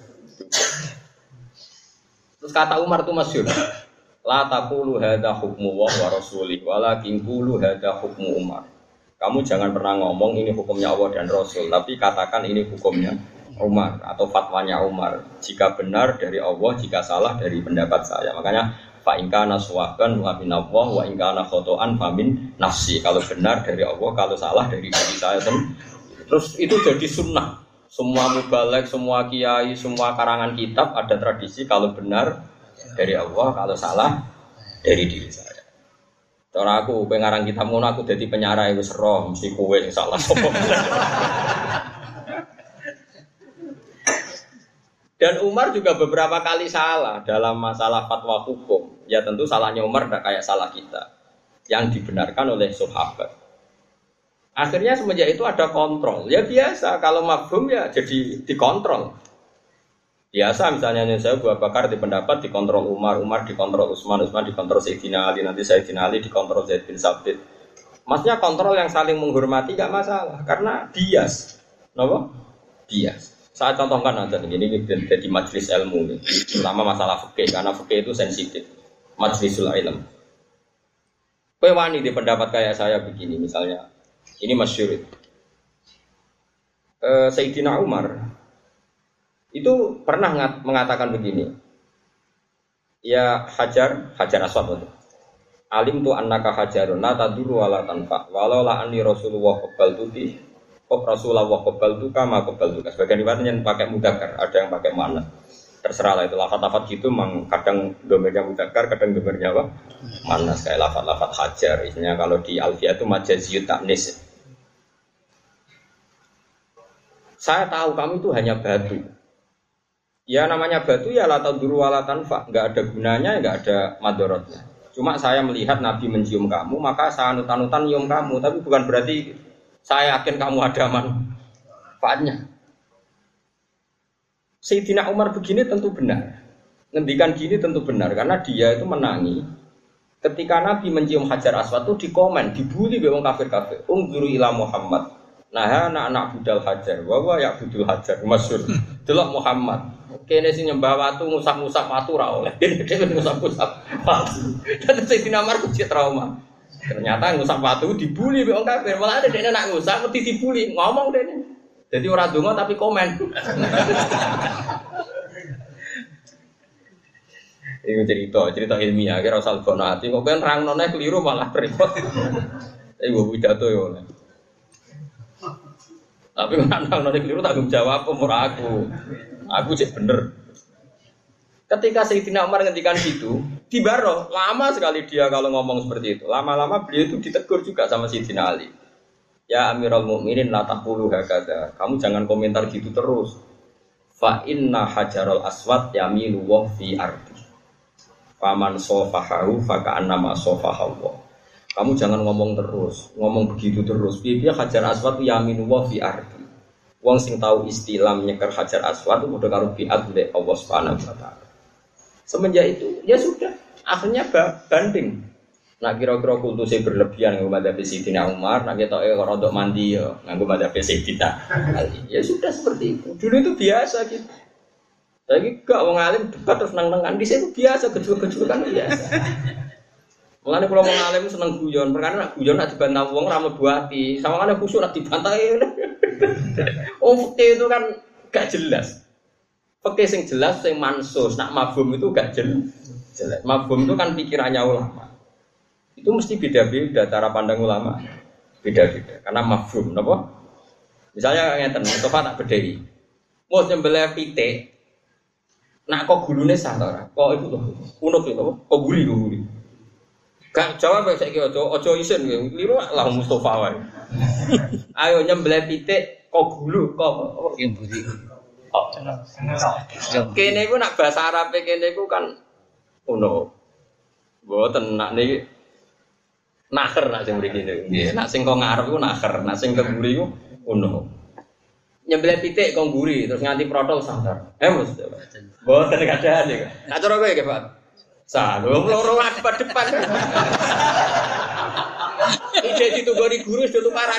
Terus kata Umar itu masyhur. La taqulu hadza hukmu wa rasuli walakin qulu hadza hukmu Umar. Kamu jangan pernah ngomong ini hukumnya Allah dan Rasul, tapi katakan ini hukumnya Umar atau fatwanya Umar. Jika benar dari Allah, jika salah dari pendapat saya. Makanya fa in kana sawaban wa min Allah wa in kana khotoan fa min nafsi. Kalau benar dari Allah, kalau salah dari diri saya. Terus itu jadi sunnah. Semua mubalek, semua kiai, semua karangan kitab ada tradisi kalau benar dari Allah, kalau salah dari diri saya. Cara aku pengarang kitab ngono aku dadi penyarai wis roh mesti kowe sing salah sapa. Dan Umar juga beberapa kali salah dalam masalah fatwa hukum. Ya tentu salahnya Umar tidak kayak salah kita. Yang dibenarkan oleh sahabat. Akhirnya semenjak itu ada kontrol. Ya biasa, kalau mafhum ya jadi dikontrol. Biasa misalnya saya Abu Bakar dipendapat dikontrol Umar, Umar dikontrol Utsman, Utsman dikontrol Sayyidina Ali, nanti Sayyidina Ali dikontrol Zaid bin Sabit. Maksudnya kontrol yang saling menghormati gak masalah. Karena bias. Kenapa? Bias. Saya contohkan aja ini jadi majelis ilmu nih, terutama masalah fikih karena fikih itu sensitif. Majlisul ilm. Kowe wani di pendapat kayak saya begini misalnya. Ini masyhur. Sayyidina Umar itu pernah mengatakan begini. Ya Hajar Aswad itu. Alim tu annaka hajarun la tadurru wa la tanfa. Walau la anni Rasulullah qabbaltuti Rasulullah qabbaltuka ma qabbaltuka. Sebagian riwayat yang pakai mudzakkar, ada yang pakai muannats. Terserah lah itu lafaz-lafaz gitu memang kadang domirnya mudzakkar, kadang domirnya apa? Muannats kayak lafaz-lafaz hajar. Isinya kalau di Alfiyah itu majaziyut ta'nis. Saya tahu kamu itu hanya batu. Ya namanya batu ya la tadurru wa la tanfa, enggak ada gunanya, enggak ada madharatnya. Cuma saya melihat Nabi mencium kamu, maka saya anut-anutan nyium kamu, tapi bukan berarti saya yakin kamu ada manfaatnya. Sayyidina Umar begini tentu benar. Ngendikan gini tentu benar karena dia itu menangi ketika Nabi mencium Hajar Aswad itu dikomen, dibully wong kafir-kafir. Unzuru ila Muhammad. Nah, anak budal Hajar, wa ya budul Hajar masyhur. Delok Muhammad. Kene sing nyembah watu ngusap-ngusap watu ra oleh. Dhewe ngusap-ngusap watu. Dadi Sayyidina Umar kecil trauma. Ternyata ngusap watu dibully wong kafir. Malah ada dene nak ngusap mesti dibully, ngomong dene. Jadi ora donga tapi komen. Iku cerita ilmiah kira usah bono ati kok kan rangnone keliru malah repot. Iku pidato yo. Tapi rangnone keliru tanggung jawab umur aku. Aku cek bener. Ketika Sayyidina Umar ngendikan gitu, Tibaro, lama sekali dia kalau ngomong seperti itu. Lama-lama beliau itu ditegur juga sama Sayyidina Ali. Ya Amirul Mukminin la taqulu hakadha. Kamu jangan komentar gitu terus. Fa inna hajarul aswad yamilu wa fi ardi. Faman sofahahu fa ka'annama sofahahu. Kamu jangan ngomong terus, ngomong begitu terus. Piye hajar aswad yamilu wa fi ardi. Wong sing tahu istilah nyeker hajar aswad itu udah karo biat oleh Allah Subhanahu wa taala. Semenjak itu, ya sudah, akhirnya banding. Nah kira-kira kultusnya berlebihan nganggo madzhab Sayyidina Umar, nah kita rodok mandi ya nganggo madzhab Sayyidina Ali. Ya sudah seperti itu. Dulu itu biasa gitu. Tapi gak wong alim debat terus nang-nangan di situ biasa, gejul-gejul kan biasa. Mulane kula wong alim seneng guyon, perkara nak guyon nak dibantah wong ra mlebu ati. Sawangane khusuk nak dibantah. Oh, fikih itu kan gak jelas. Fikih sing jelas sing mansus, nak mafhum itu gak jelas. Mafhum itu kan pikirannya ulama. Itu mesti beda-beda cara pandang ulama. Beda-beda karena mafhum, napa? Misalnya ngeten, Mustafa tak bedhei. Mau nyembelih pitik. Nak kok gulune sah ta ora? Kok iku lho. Unuk lho, kok guli. Gak jawab saiki aja isin liru lah Mustafa wae. Ayo nyembelih pitik kok gulu kok mburi. Kene iku nak bahasa Arab kene iku kan unuk. Mboten nak niki naker nak sing mriki nggih. Nak sing kok ngarep iku naker, nak sing keburi iku unuk. Nyembelih pitik kok guri terus nganti protol sangar. Mus. Mboten kadang iki. Nak cara kowe nggih, Pak. Salum loro depan. Ide ditunggoni guru sudah tukaran.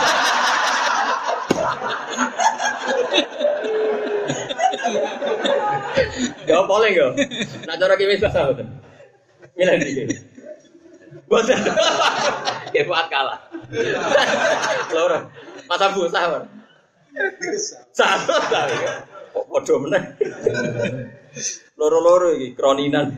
Ya boleh yo. Nak cara ki wis bahasa mboten. Milih iki. Boten. Ya buat kalah. Loro. Masa Bu sahur. Sahur ta. Kok padha meneh. Loro-loro iki kroninan.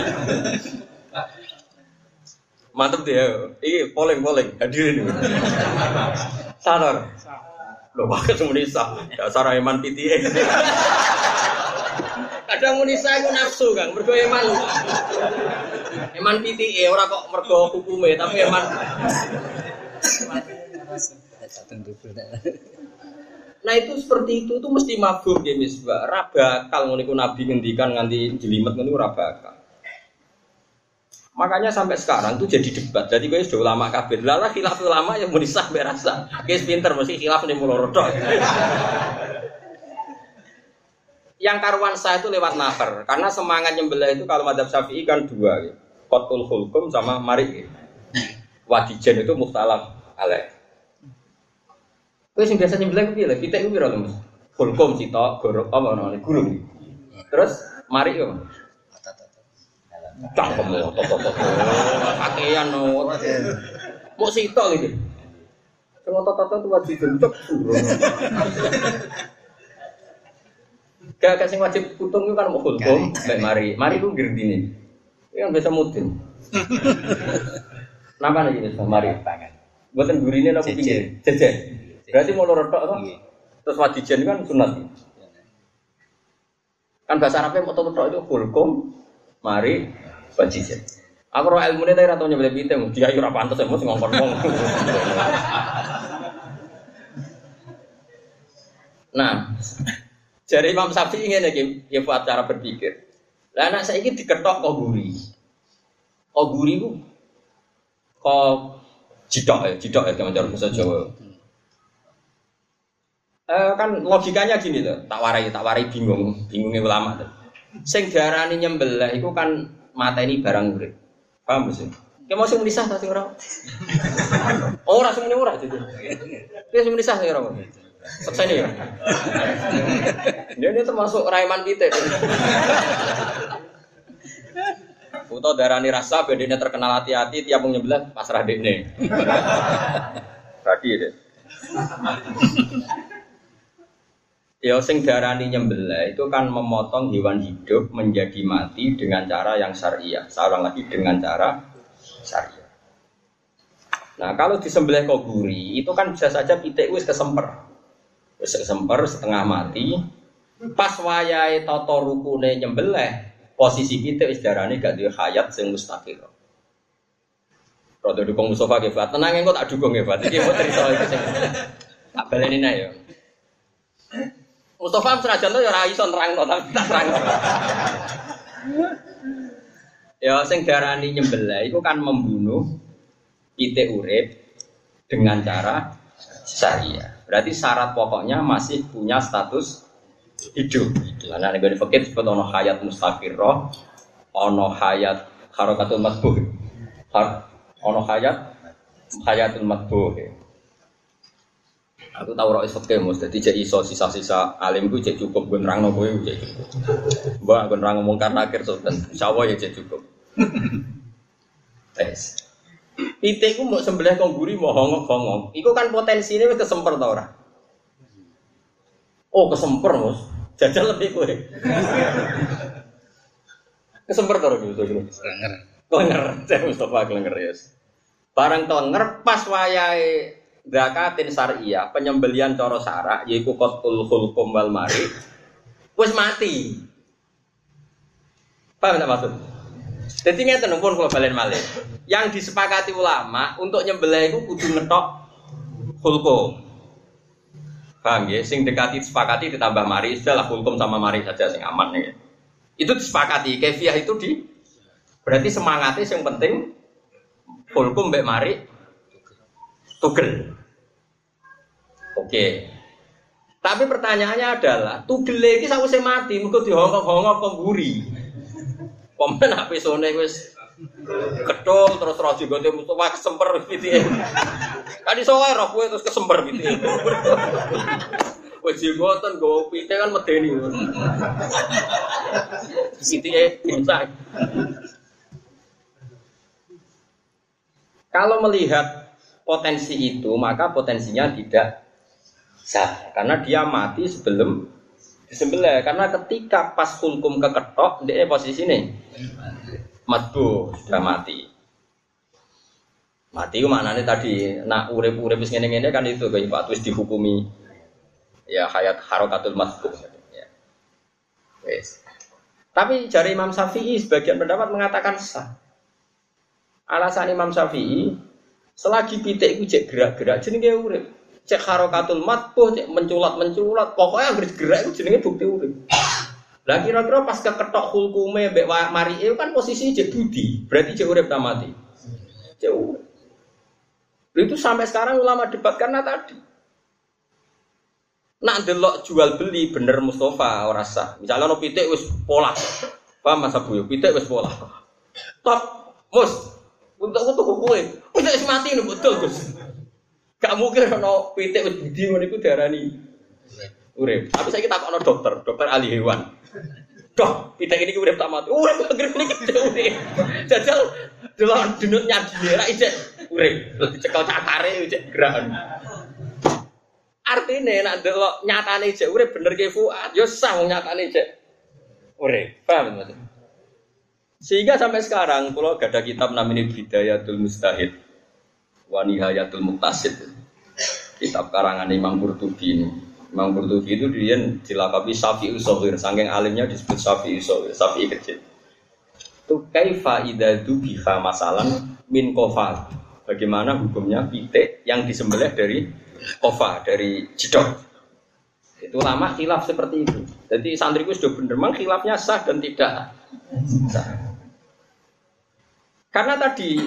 Mantep dia. Iki polling hadirin. Sadar. Lho wae semunisa. Dasar iman PTE. Kadang munisa iku nafsu, Kang. Mergo iman. Iman PTE ora kok mergo hukume, tapi iman. Nah itu seperti itu mesti mafhum ya misbah. Ra bakal ngono iku Nabi ngendikan nganti jelimet ngono ora bakal. Makanya sampai sekarang tuh jadi debat. Jadi kowe sudah ulama kabeh. Lah khilaf ulama yang muni sah berasa. Guys pinter mesti khilaf ning mulo rodok. Yang karuan sah itu lewat nafar. Karena semangat nyembelih itu kalau madzhab Syafi'i kan dua ya. Qatul hulqum sama marik. Wadijan itu mukhtalaf alaih. Kowe sing biasa nyembelih ku piye lho? Pitik ku piro to, Mas? Hulkum sitok, gorok apa namane? Gulung. Terus marik yo. Cangkem toto. Pakaian no. Mau sitok iki. Sing toto-toto tuh wajib bentuk. Gak sing wajib putung itu kan mau hulkum, baik mari ku girdine. Iki kan biasa mudin. Napa nek iki mari tangan. Mboten gurine napa pinggir? Jejer. Berarti mau loro tok toh? Terus wadijen kan sunat. Kan bahasa Arabnya mau tok itu hulkum, mari wadijen. Aku ora ilmune ta ora tau nyembelih pitik, dia yo ora pantes mesti ngongkon wong. Nah, jare Imam Syafi'i ngene iki, ya buat cara berpikir. Lah anak saiki diketok kok guri. Kok guri ku kok jidok ya teman cara bahasa Jawa. Kan logikanya gini loh, tak warai bingungnya ulama tuh. Sing diarani nyembelih itu kan mateni barang urip. Paham sih? Ki mau sing menisah ta sing ora? Ora sing ora jadi. Ki sing menisah sing ora. Selesai ya. Dia termasuk raiman kita. Foto darani rasa bedanya terkenal hati-hati tiap mau nyembelih pasrah dekne. Tadi deh. Ya sing darani nyembelih itu kan memotong hewan hidup menjadi mati dengan cara yang syariah. Seorang lagi dengan cara syariah. Nah, kalau disembelih kok guri, itu kan bisa saja pitik wis kesemper. Wis kesemper setengah mati. Pas wayahe tata rukune nyembelih, posisi pitik wis darane gak duwe hayat sing mustaqil. Rodo dukung Mustafa ge, Pak. Tenang engko tak dukung ge, Pak. Iki mau cerita iki sing tak baleni nek ya. Mustafa senajan to ya ora iso nerangno tapi tak terangno. Ya sing darani nyembelih iku kan membunuh pitik urip dengan cara syariah. Berarti syarat pokoknya masih punya status hidup. Lah nek ngene fikih disebut ana hayat mustaqirrah, ana hayat harakatul matbuh. Ana hayatul matbuh. Aku tahu ora iso kemus, dadi jek iso sisa-sisa alim ku jek cukup gue nerangno kowe jek cukup. Mbak gue nerang ngomong karena akhir sultan, insyaallah ya jek cukup. Tes. Pitik ku mbok sembelih kok guri mau hongok-hongok. Iku kan potensine wis kesemper ta ora? Oh, kesemper, Mus. Jajal lebih kowe. Kesemper to gitu. Klenger. Cek Mustafa klenger ya. Barang klenger pas wayahe zakatin syariah, penyembelian cara syarak yaiku qatul khulqum wal mari. Wis mati. Paham tak maksud? Jadi ngeten pun kalau balen malih. Yang disepakati ulama untuk nyembelih iku kudu ngetok khulqum. Paham ya? Sing dekati disepakati ditambah mari, istilah khulqum sama mari saja sing aman ya. Itu disepakati, kefiah itu berarti semangatnya yang penting khulqum mbek mari tugel. Oke. Tapi pertanyaannya adalah tugel iki sawise mati mergo dihongkok-hongkok kok mburi. Komen apa sone wis ketul terus rojo gote Mustafa kesemper gitu. Kan iso wae roh kowe terus kesemper gitu. Wis jenggoten go pite kan medeni. Sithike bisa. Kalau melihat potensi itu, maka potensinya tidak sah karena dia mati sebelum disembelih. Karena ketika pas khulqum keketok, dia posisi ini matbu sudah mati. Mati ku maknane tadi nak urip-urip wis ngene-ngene kan itu kayak Pak wis dihukumi ya hayat harakatul matbu ya. Wes. Tapi jari Imam Syafi'i sebagian pendapat mengatakan sah. Alasan Imam Syafi'i selagi pitik iku cek gerak-gerak jenenge urip. Cek harakatul matbu cek menculat-menculat pokoknya anggere gerak iku jenenge bukti urip. Lah kira-kira pas keketok hulkume mbek marike kan posisi cek budi, berarti cek urip ta mati. Cek urip. Itu sampai sekarang ulama debat karena tadi. Nak delok jual beli bener Mustafa ora sah. Misalnya ono pitik wis pola. Paham Mas Abu? Pitik wis pola. Top, Mus. Untuk kowe. Pitik wis mati lho betul, Gus. Gak mungkin ono pitik wis budi ngono iku diarani urip. Tapi saiki takokno dokter ahli hewan. Dok, pitik ini urip tak mati. Urip anggere niki urip. Jajal delok denutnya dhewe ra ijek urip. Dicekel cakare ijek gerakan. Artine nek delok nyatane ijek urip bener ke Fuad, ya sah wong nyatane ijek urip. Paham Mas? Sehingga sampai sekarang kula gadah kitab namanya Bidayatul Mustahid wa Nihayatul Muqtasid. Kitab karangan Imam Qurtubi ini. Imam Qurtubi itu dia dilakabi Syafi'i Shaghir, saking alimnya disebut Syafi'i Shaghir, Syafi'i kecil. Itu kaifa idza dubiha masalan min qafal. Bagaimana hukumnya pitik yang disembelih dari kofa, dari jedok. Itu lama khilaf seperti itu. Jadi santriku sudah bener memang khilafnya sah dan tidak sah. Karena tadi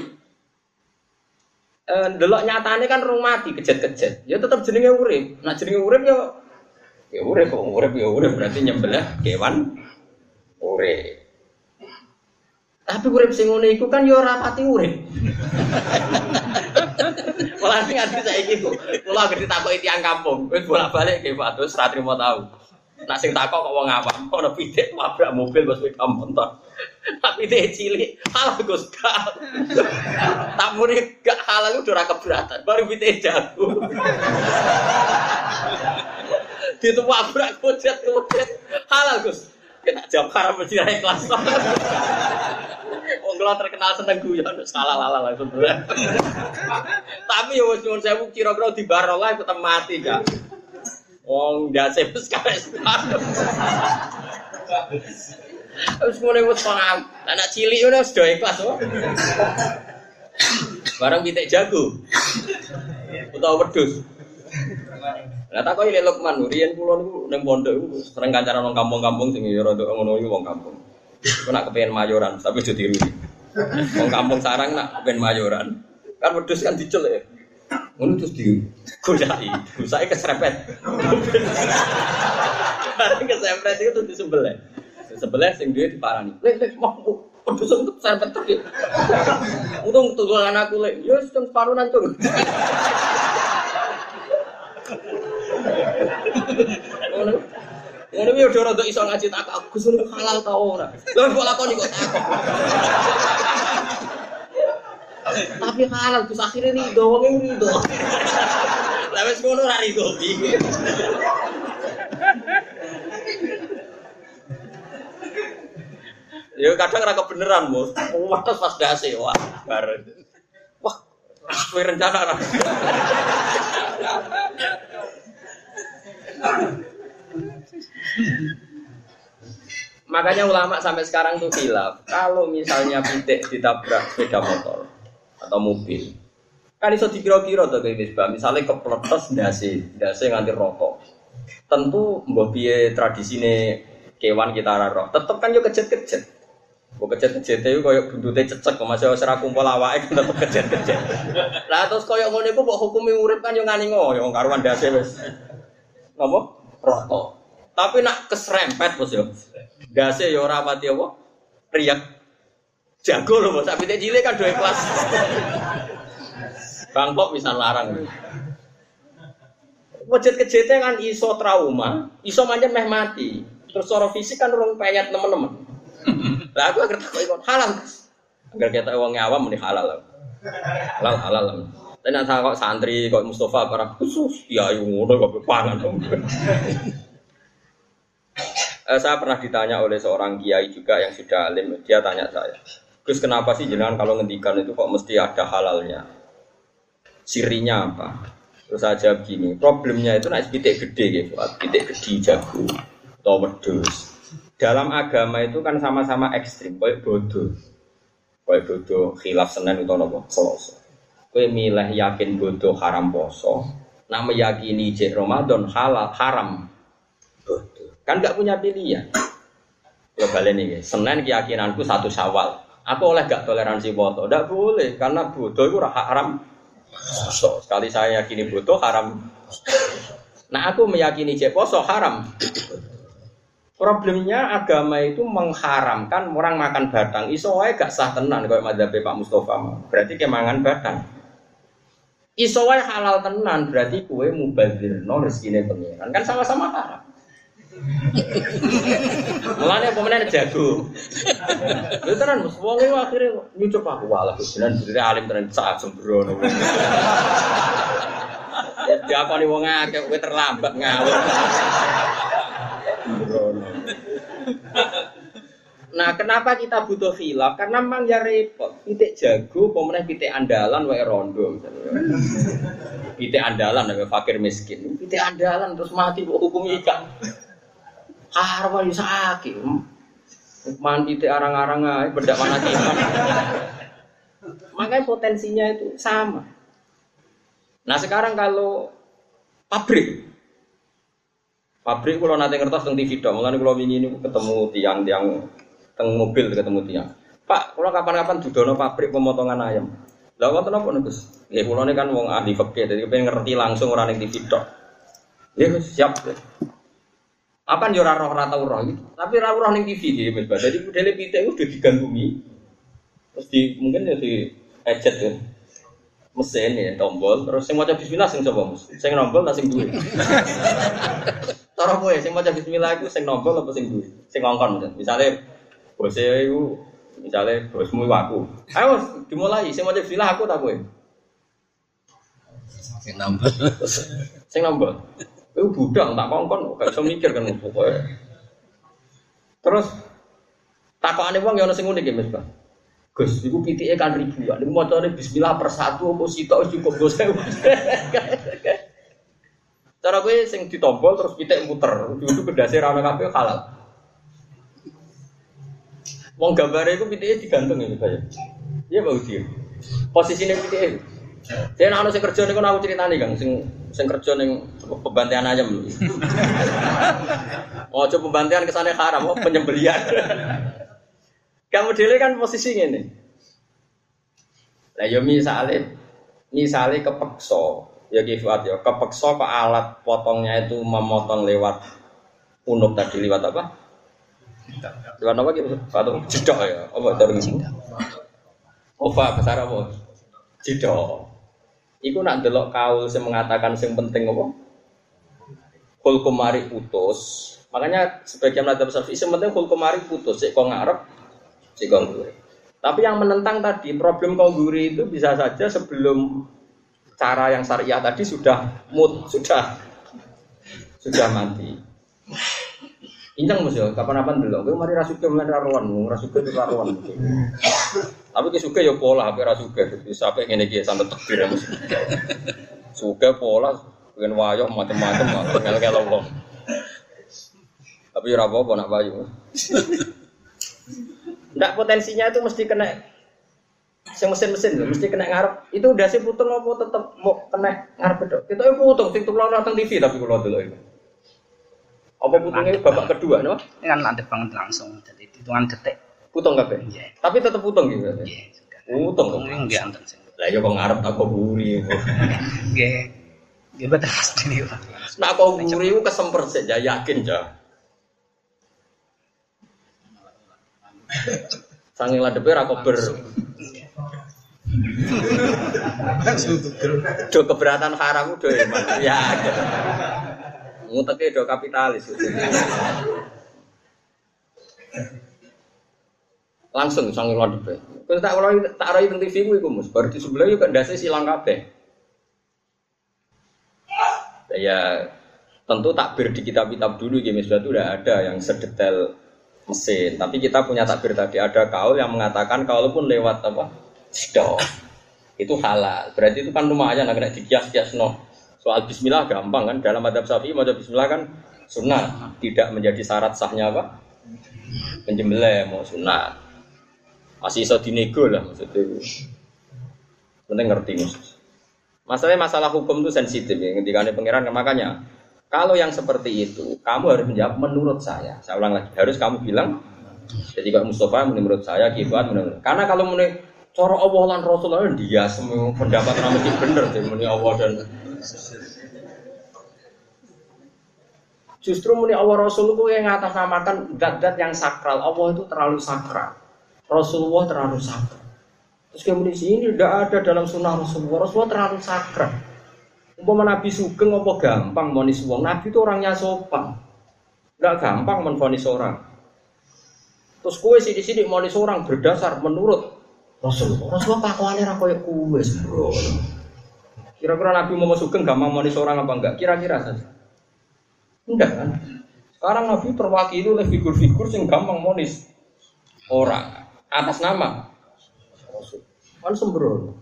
delok nyatane kan rung mati kejet-kejet. Ya tetap jenenge urip. Nah jenenge urip ya urip kok urip ya urip berarti nyembelih kewan urip. Tapi urip sing ngene iku kan ya ora pati urip. Malah sing ati saiki kula gede takoki tiyang kampung, wis bolak-balik nggih Pak terus ra trimo tau. Nak sing takok kok wong awam, ana pitik nabrak mobil Gus sepeda motor. Tapi pitik cilik, halal Gus gak. Tak muni gak halal udah ora keberatan, baru pitik jago. Ditubrak kucet-kucet. Halal Gus. Kita jawab haram mesti ra ikhlas. Wong kula terkenal seneng guyon salah-salah langsung. Tapi ya wis nyuwun sewu kira-kira dibarolah tetep mati Kak. Wong ndase wis kares. Wis ngene wis paham. Anak cilik ngono wis do ikhlas kok. Barang pitik jago. Utawa wedhus. Lah tak koyo Lukman, riyen kula niku ning pondok niku sering kancaran wong kampung-kampung sing ya rada ngono iki wong kampung. Iku nak kepengin mayoran, tapi aja tiru. Wong kampung sarang nak kepengin mayoran. Kan wedhus kan diceluk. Ngono terus digolaki. Gusake keserempet. Bareng keserempet itu terus disembelih. Disembelih sing duwe diparani. Lek mau wedhus untuk serempet terus. Untung tulangan aku lek, ya wis separuhan tuh. Ngono iki ora ndok iso ngaji tak Gus halal ta ora. Lha kok lakoni kok takok. Tapi halal Gus akhire rido wong rido. Lah wis ngono ora rido iki. Ya kadang ora kebenaran, Bos. Wates pas dase, wah, bareng. Wah, kowe rencana ra. Makanya ulama sampai sekarang tuh khilaf. Kalau misalnya pitik ditabrak sepeda motor atau mobil, kan iso dikira-kira to kayak misbah. Misalnya kepletes ndase nganti rokok. Tentu mbah piye tradisine kewan kita ora roh. Tetep kan yo kejet-kejet. Mbok kejet-kejet itu koyo buntute cecek kok masih ora kumpul awake tetep kejet-kejet. Lah terus koyo ngono iku kok hukume urip kan yo ngani ngoyo karuan ndase wis. Napa? Rokok. Tapi nak keserempet bos yo. Dase ya ora pati apa? Riyak. Jago lho Bos, sampe cilik kan dua kelas. Bangkok bisa larang. Kejet-kejete kan iso trauma, iso pancen meh mati. Terus secara fisik kan urung payat teman-teman. Lah aku agar takok ikon halal. Agar kita wong awam muni halal. Halal. Tapi nek kok santri kok Mustafa para khusus ya yo ngono kok pangan. Saya pernah ditanya oleh seorang kiai juga yang sudah alim, dia tanya saya, Gus kenapa sih jenengan kalau ngendikan itu kok mesti ada halalnya? Sirinya apa? Terus saya jawab gini, problemnya itu naik pitik gede gitu, pitik gede jago, atau wedhus. Dalam agama itu kan sama-sama ekstrim, kayak bodoh, khilaf Senin atau nopo Selasa. Kowe milih yakin bodoh haram poso, nak meyakini jek Ramadan halal haram bodoh. Kan enggak punya pilihan. Ya baleni nggih. Senin keyakinanku 1 Syawal. Aku oleh gak toleransi foto? Enggak boleh karena bodoh itu haram. So, sekali saya yakini bodoh haram. Nah, aku meyakini jek poso haram. Problemnya agama itu mengharamkan orang makan batang. Iso wae gak sah tenan koyo madzhab Pak Mustofa. Berarti kemangan batang. Iso wae halal tenan berarti kowe mubadzirno rezekine pengiran. Kan sama-sama haram. Mulane pemene jago. Lha tenan Mas wong iki akhire nyucup aku walah jenengan bener alim tenan sak sembrono. Ya diakoni wong akeh kowe terlambat ngawur. Sembrono. Nah, kenapa kita butuh khilaf? Karena memang ya repot. Pitik jago, pemenang pitik andalan wae rondo misalnya. Pitik andalan wae fakir miskin. Pitik andalan terus mati kok hukum ikan. Harwa yo sakit. Mandi te arang-arang ae bedak mana kiman. Makanya potensinya itu sama. Nah, sekarang kalau pabrik kalau nanti ngertos teng TV dong, mulane kula wingi niku ketemu tiang-tiang teng mobil ketemu tiang. Pak, kula kapan-kapan dudono pabrik pemotongan ayam. Lah wonten apa niku, Gus? Nggih, kula ini kan wong ahli fikih, dadi pengen ngerti langsung ora ning TV tok. Nggih, siap. Apa yo ora roh tau roh iki. Tapi ora roh ning TV iki Mas. Dadi modele pitik udah digantumi. Terus mungkin ya di ejet ya. Mesin ya tombol terus sing maca bismillah sing sapa Mas? Sing nombol ta sing duwe? Cara kowe sing maca bismillah iku sing nombol apa sing duwe? Sing ngongkon misale bose iku misale bosmu aku. Ayo dimulai sing maca bismillah aku ta kowe? Sing nombol. Sing nombol. Itu budak tak kongkon, gak bisa mikir kan pokoknya. Terus takokane wong ya ana sing unik ya Mas, Pak. Gus, iku pitike kan ribuan. Niku macane bismillah per satu apa sitok cukup Gus. Cara kowe sing ditombol terus pitik muter, itu gedase ra ono kabeh halal. Wong gambare iku pitike digantung ya, Pak. Iya, Pak Udi. Posisine pitike. Saya nak sing kerja niku aku critani Kang, sing kerja ning pembantian ayam. Oh, coba pembantian kesane haram, oh penyembelihan. Kamu dhewe kan posisi ngene. Lah yo misale kepeksa, ya kifat ya, kepeksa ke alat potongnya itu memotong lewat unuk tadi lewat apa? Lewat apa gitu? Atau jedok ya? Apa terus? Apa besar apa? Jedok. Iku nak delok kaul sing mengatakan sing penting apa? Hukum mari putus. Makanya sebagian madzhab Syafi'i sing penting hukum mari putus, sik kok ngarep, sik kok ngguri. Tapi yang menentang tadi problem kongguri itu bisa saja sebelum cara yang syariah tadi sudah mati. Pincang Mas yo, kapan-kapan delok. Kowe mari ra sugih mulai ra rowan, ra sugih ra rowan. Tapi ki sugih yo pola, ape ra sugih. Wis ape ngene iki santet tekbir Mas. Sugih pola, pengen wayo macam-macam ngel-ngel wong. Tapi ora apa-apa nak wayo. Ndak potensinya itu mesti kena mesin-mesin mesti kena ngarep. Itu udah sih putung apa tetep mau kena ngarep tok. Kita yo putung sing tukang nonton TV tapi kula delok itu. Apa putungnya babak kedua, no? Ini kan landep banget langsung, jadi hitungan detik. Putung kabeh. Iya. Tapi tetap putung gitu. Iya, sudah. Putung. Enggak anten sing. Lah yo kok ngarep tak kok buri. Nggih. Nggih betul pasti niku. Nak kok buri ku kesemper sik ya yakin ja. Sange ladepe ra kober. Do keberatan haram do ya. Nguteke do kapitalis. Langsung sange ladepe. Terus tak rai teng TV ku iku Mus, bar di sebelah yo kok ndase silang kabeh. Ya tentu takbir di kitab-kitab dulu gitu itu udah ada yang sedetail mesin. Tapi kita punya takbir tadi ada kaul yang mengatakan kalaupun lewat apa stop itu halal. Berarti itu kan lumayan agak dikias-kias no. Soal bismillah gampang kan dalam madzhab Syafi'i maca bismillah kan sunnah, tidak menjadi syarat sahnya apa? Penjembelih mau sunnah. Masih iso dinego lah maksudnya. Penting ngerti Mus. Masalah hukum itu sensitif ya. Ketika ada pengiran makanya kalau yang seperti itu kamu harus menjawab menurut saya. Saya ulang lagi harus kamu bilang. Jadi kalau Mustafa menurut saya Kibat menurut. Karena kalau menurut cara Allah dan Rasulullah dia semua pendapat mesti bener jadi menurut Allah dan justru muni Allah Rasul itu yang ngatasnamakan zat-zat yang sakral. Allah itu terlalu sakral. Rasulullah terlalu sakral. Terus kemudian sini tidak ada dalam sunnah Rasulullah. Rasulullah terlalu sakral. Umpama Nabi Sugeng apa gampang monis wong. Nabi itu orangnya sopan. Tidak gampang menvonis orang. Terus kue sidik-sidik monis orang berdasar menurut Rasulullah. Rasulullah pakaiannya ra koyo kue sembrono. Kira-kira Nabi Muhammad Sugeng gampang monis orang apa enggak? Kira-kira saja. Enggak kan? Sekarang Nabi terwakili oleh figur-figur yang gampang monis orang atas nama Rasul. Kan sembrono.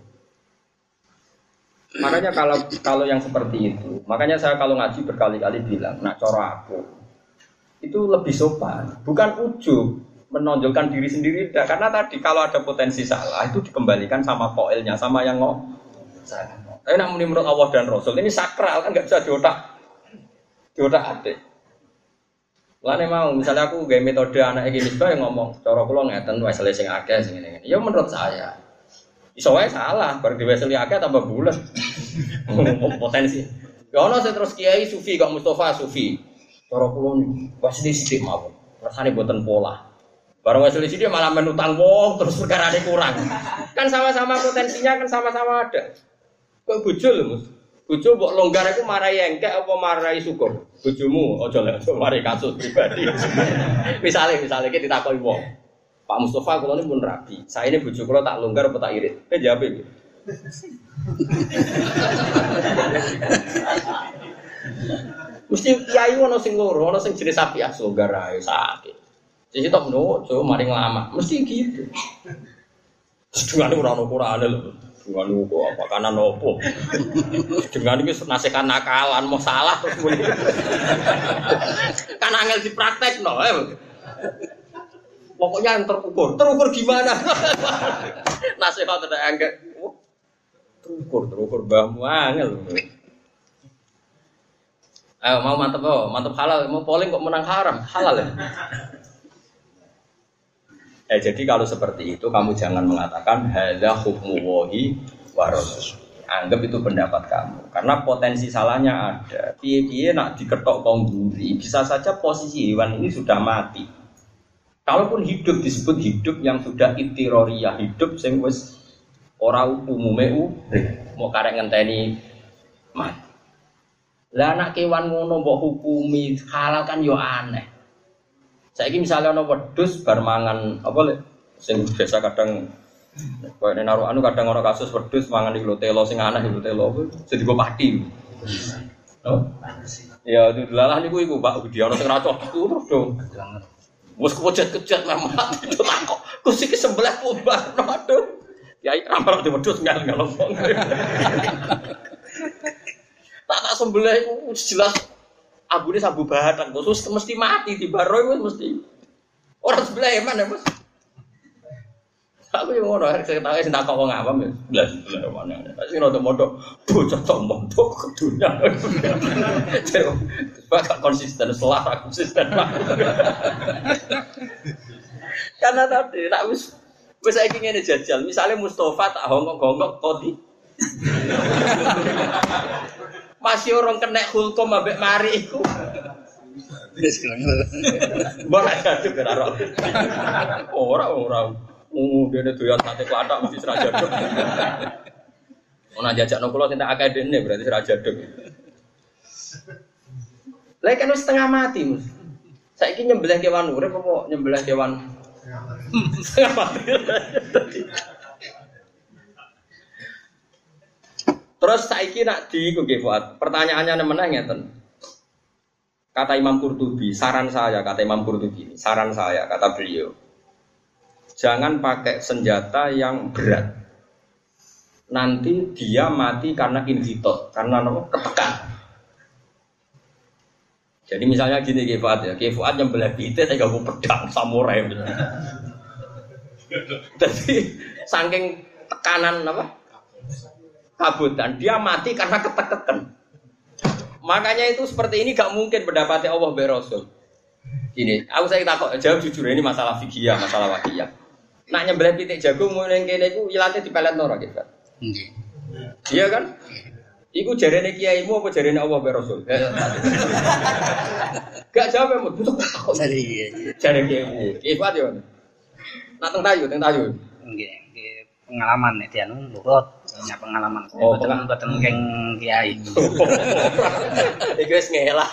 Makanya kalau yang seperti itu, makanya saya kalau ngaji berkali-kali bilang, nak cara aku itu lebih sopan, bukan ujub menonjolkan diri sendiri, karena tadi kalau ada potensi salah itu dikembalikan sama koilnya, sama yang ngomong. Tapi nak menurut Allah dan Rasul ini sakral kan nggak bisa diotak atik. Lane mau misalnya aku gawe metode anak iki misbah yang ngomong, cara kula ngeten wae sing akeh sing ngene. Ya menurut saya. Iso wae salah, bar diweseli akeh tambah bulet. Potensi. Ya ono sing terus kiai sufi kok Mustafa sufi. Cara kula niku pasti sithik mawon. Rasane boten pola. Bareng weseli sithik malah menutang wong terus perkarane kurang. Kan sama-sama potensinya kan sama-sama ada. Kok bojo lho, Mas. Bojo mbok longgar iku marai engkek apa marai syukur? Bojomu aja lek mari kasus pribadi. Misale iki ditakoki wong. Pak Mustafa kula niku pun rabi. Saya ini bojo kula tak longgar apa tak irit? Jawab iki. Mesti kiai ono sing loro, ono sing jenis sapi longgar ae sakit. Sing tok nojo mari nglama. Mesti gitu. Sedungane ora ono Qur'ane lho. Dengan kok apa kanan opo. Dengan iki nasihat nakalan mau salah terus muni. Kan angel dipraktekno. Pokoknya yang terukur gimana? Nasihat ada angel. Terukur mbahmu angel. Ayo mau mantep halal, mau polling kok menang haram, halal ya. Jadi kalau seperti itu kamu jangan mengatakan hadza hukmu wahi wa rasul. Anggap itu pendapat kamu. Karena potensi salahnya ada. Piye-piye nak diketok kongguri, bisa saja posisi hewan ini sudah mati. Kalaupun hidup disebut hidup yang sudah ittiroriyah, hidup sing wis ora umume mau karek ngenteni mati. Lah anak kewan ngono mbok hukumi halal kan yo aneh. Saiki misalnya ana wedhus bar mangan apa lek sing biasa kadang koyo nek naruh anu kadang ana kasus wedhus mangan iki lho telo sing aneh iki telo apa jadi go pati. Oh, Ya dilalah niku iku Pak Budi ana sing ra cocok terus dong. Wes kepojat-kejat memang itu takok. Kus iki sebelah pubar aduh. Kiai rampal wedhus ngal-ngal wong. Tak sembelih iku jelas abune sabu bathang khusus mesti mati di baro iku mesti. Ora sebelah mana Mas? Aku yang ngono arek saya tahu sing takok wong awam ya. Belas mana. Sing rodo-modo bocah tombo kedunya. Coba konsisten salah konsisten. Karena tadi tak wis saiki ngene jajal. Misale Mustofa tak hongkok-hongkok kodi. Masih orang kena hulkum ambek mari iku. Wis kene. Ora jatuh karo. Ora. Dene doyan sate klathak mesti sira jaduk. Ana jajakno kula sing tak akeh dene berarti sira jaduk. Lah kan wis setengah mati, Mus. Saiki nyembelih kewan urip apa nyembelih kewan setengah mati. Terus saiki nak diiku nggih Fuad. Pertanyaannya meneh ngeten. Kata Imam Qurtubi, saran saya kata Imam Qurtubi, saran saya kata beliau. Jangan pakai senjata yang berat. Nanti dia mati karena inhitot, karena ketekan. Jadi misalnya gini Fuad ya, Fuad nyembelih pitik saya gak pedang samurai. Jadi saking tekanan kabutan, dia mati karena ketekan. Makanya itu seperti ini gak mungkin mendapati Allah be Rasul. Gini, aku saya takut jawab jujur ini masalah fikih, masalah wakiyah. Nak nyembelih pitik jagung mulai kene iku ilate dipelet ora gitu. Nggih. Iya kan? Iku jarene kiaimu apa jarene Allah be Rasul? Gak jawabemu takut. Jare kiaimu. Iku ade yo. Nak teng tayu. Nggih, pengalaman nek dianu nurut, punya pengalaman. Boten keng kiai. Iku wis ngelah.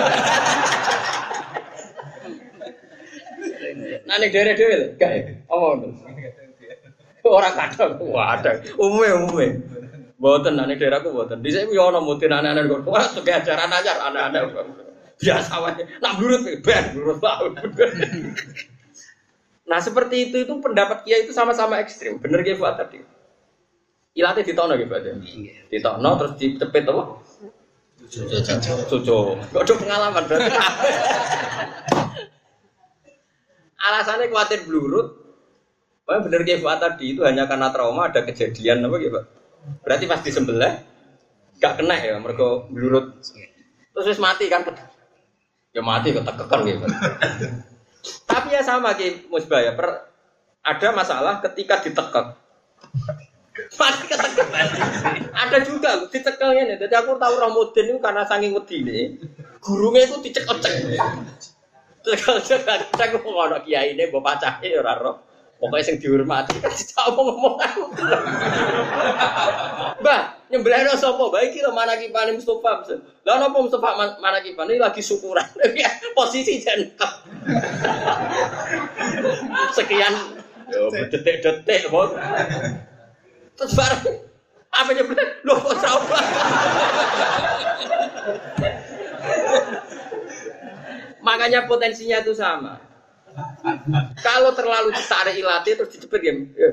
Nah nek dhewe-dhewe lho, gak apa ora kadang. Waduh, umume. Mboten nek daerahku mboten. Dhisik yo ana mutin anak-anak kok. Ora sing ajaran anyar anak-anak. Biasa wae. Nak blurut blurut. Nah, seperti itu pendapat kiai itu sama-sama ekstrim. Bener nggih Fuad tadi. Ilate ditokno nggih Fuad. Ditokno terus dicepet apa? Cucu. Kok pengalaman berarti. Alasannya khawatir blurut. Wah bener kayak Fuad tadi itu hanya karena trauma ada kejadian apa gitu Pak. Berarti pas disembelih gak kena ya mereka blurut. Terus wis mati kan. Ya mati ketekekan gitu. Tapi ya sama kayak Musbah ya. Ada masalah ketika ditekek. Mati ketekekan. Ada juga ditekelnya nih. Jadi aku tahu Ramudin itu karena saking wedine. Gurunya itu dicek-cek. Cek ngono kiai ne mbok pacahe ora ro. Pokoke sing dihormati kan ngomong aku. Mbah, nyembelihno sapa? Bae iki lho manakipane Mustofa. Lah napa Mustofa manakipane lagi syukuran. Posisi jengkep. Sekian yo detik-detik kok. Terus bareng apa nyembelih? Lho kok sapa? Makanya potensinya itu sama. Kalau terlalu ditarik ilate terus dicepet ya.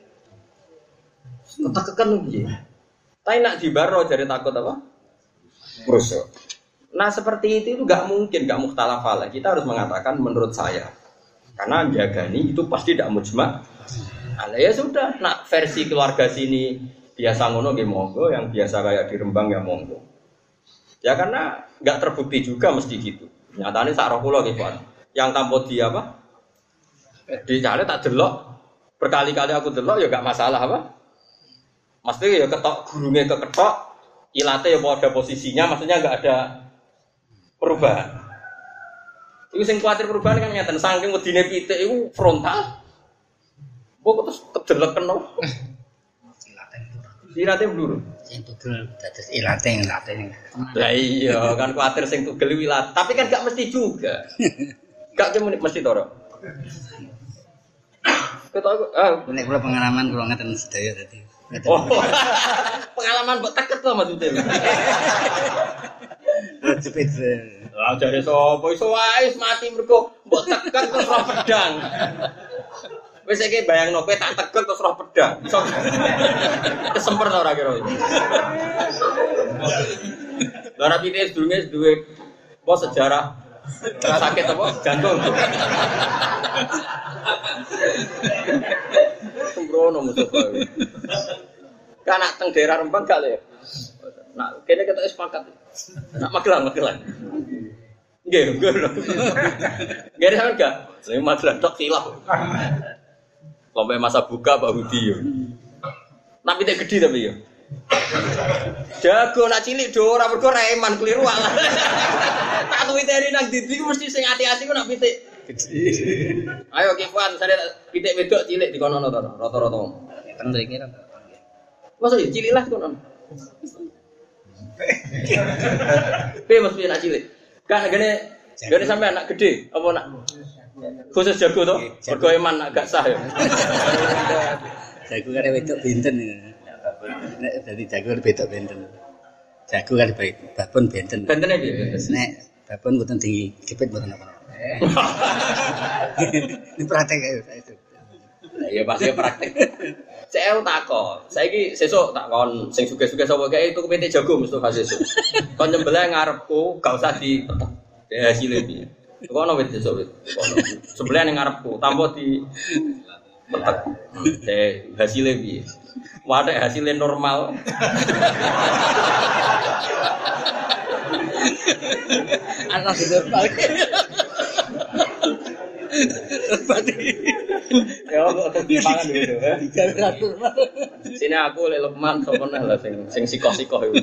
Ketekekan piye? Tapi nak dibaro jadi takut apa? Rusuh. Nah seperti itu enggak mungkin, enggak mukhtalafah. Kita harus mengatakan menurut saya. Karena jagani itu pasti tidak mujma'. Ala ya sudah, nak versi keluarga sini biasa ngono nggih monggo, yang biasa kayak di Rembang ya monggo. Ya karena enggak terbukti juga mesti gitu. Nyatane sak roh kula nggih, Pak. Yang tanpa di apa? Dicale tak delok. Berkali-kali aku delok ya enggak masalah apa? Mesti ya ketok gurunge keketok, ilate ya pada posisinya, maksudnya enggak ada perubahan. Iku sing kuwatir perubahan kan ngeten, saking wedine pitik iku frontal. Kok terus kedeleken no. Ilate blur. Sing tugel dados ilate. Lah iya, kan kuwatir sing tugel wilat, tapi kan gak mesti juga. Gak mesti to, Rok. Ketok nek kula pengalaman kula ngeten sedaya dadi. Oh. Pengalaman mbok teket to maksudnya. Jepit. Lah jare sapa iso wae mati mergo mbok tekan terus roh pedang. Wis iki bayangno kowe tak tegel terus roh pedang. Iso kesemper ta ora kira. Lah rapi wis durunge duwe apa sejarah sakit apa jantung. Sembrono Mustafa. Kan nak teng daerah Rembang gak le. Nak kene ketok sepakat. Nak Magelang. Nggih, nggih. Nggih sampean gak? Lha Magelang tok silap. Sampai masa buka Pak Budi yo. Nak pitik gedhi tapi yo. Jago nak cilik do ora mergo reman kliru ala. Tak tuwiteri nang didi ku mesti sing ati-ati ku nak pitik gedhi. Ayo Kifan, sare pitik wedok cilik dikono to rata-rata. Teng mriki ra. Masa cilik lah kono. Piye mesti nak cilik? Kan gene sampe anak gede apa nak khusus jago to? Mergo eman nak gak sah ya. Jago kare wedok benten. Nek dadi jago wedok benten. Jago kan babon benten. Bentene piye? Nek babon mboten digepit mboten apa-apa. Ini praktek ae itu. Ya pasti praktek. Saya takon. Saiki sesuk takon sing sugih-sugih sapa kae itu kepitik jago Mustofa sesuk. Kon nyembelih ngarepku gak usah dipetek. Hasilé piye? Kono wit sesuk wit. Sebelah ning ngarepku tanpa di petek. Hasilé piye? Wadah hasilnya normal. Anak normal. Ya kok dipangan gitu ya. Normal. Sini aku lek Lukman sapa lah sing sikoh-sikoh iku.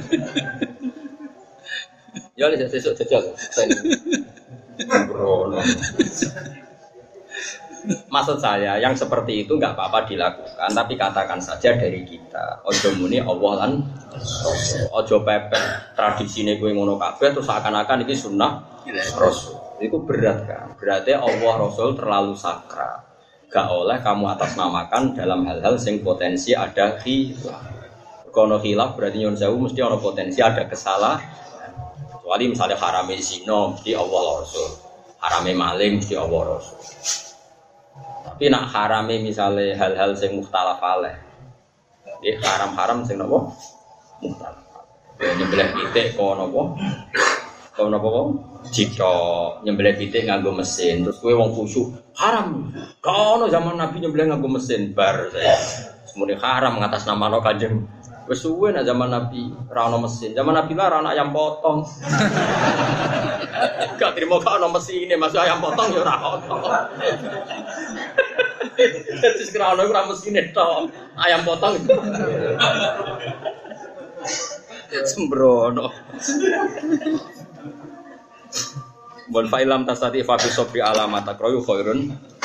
Ya wis sesuk jajal. Bro. Maksud saya yang seperti itu enggak apa-apa dilakukan, tapi katakan saja dari kita. Ojo muni Allah lan ojo pepet tradisine kowe ngono kabeh terus seakan-akan iki sunnah Rasul. Itu berat kan. Berarti Allah Rasul terlalu sakral. Gak oleh kamu atasnamakan dalam hal-hal sing potensi ada khilaf. Kono khilaf berarti nyun sewu mesti ada potensi ada kesalahan. Kecuali misalnya harame zina mesti Allah Rasul. Harame maling mesti Allah Rasul. Tapi nak harame misalnya hal-hal sing mukhtalaf alaih. Nggih haram-haram sing napa? Mukhtalaf. Nyembelih pitik kono napa? Kono napa? Jika nyembelih pitik nganggo mesin terus kowe wong khusyuk haram. Kono zaman Nabi nyembelih nganggo mesin bar saya. Semuanya haram ngatasnamano Kanjeng. Wis suwe nek zaman Nabi ra ono mesin. Zaman Nabi lah ra ono ayam potong. Gak trimo gak ono mesine, masuk ayam potong ya ora ono. Terus kira ono ora mesine tok. Ayam potong. Sembrono. Bon fa'ilam tasati fa bi sabri alamat akroyu khairun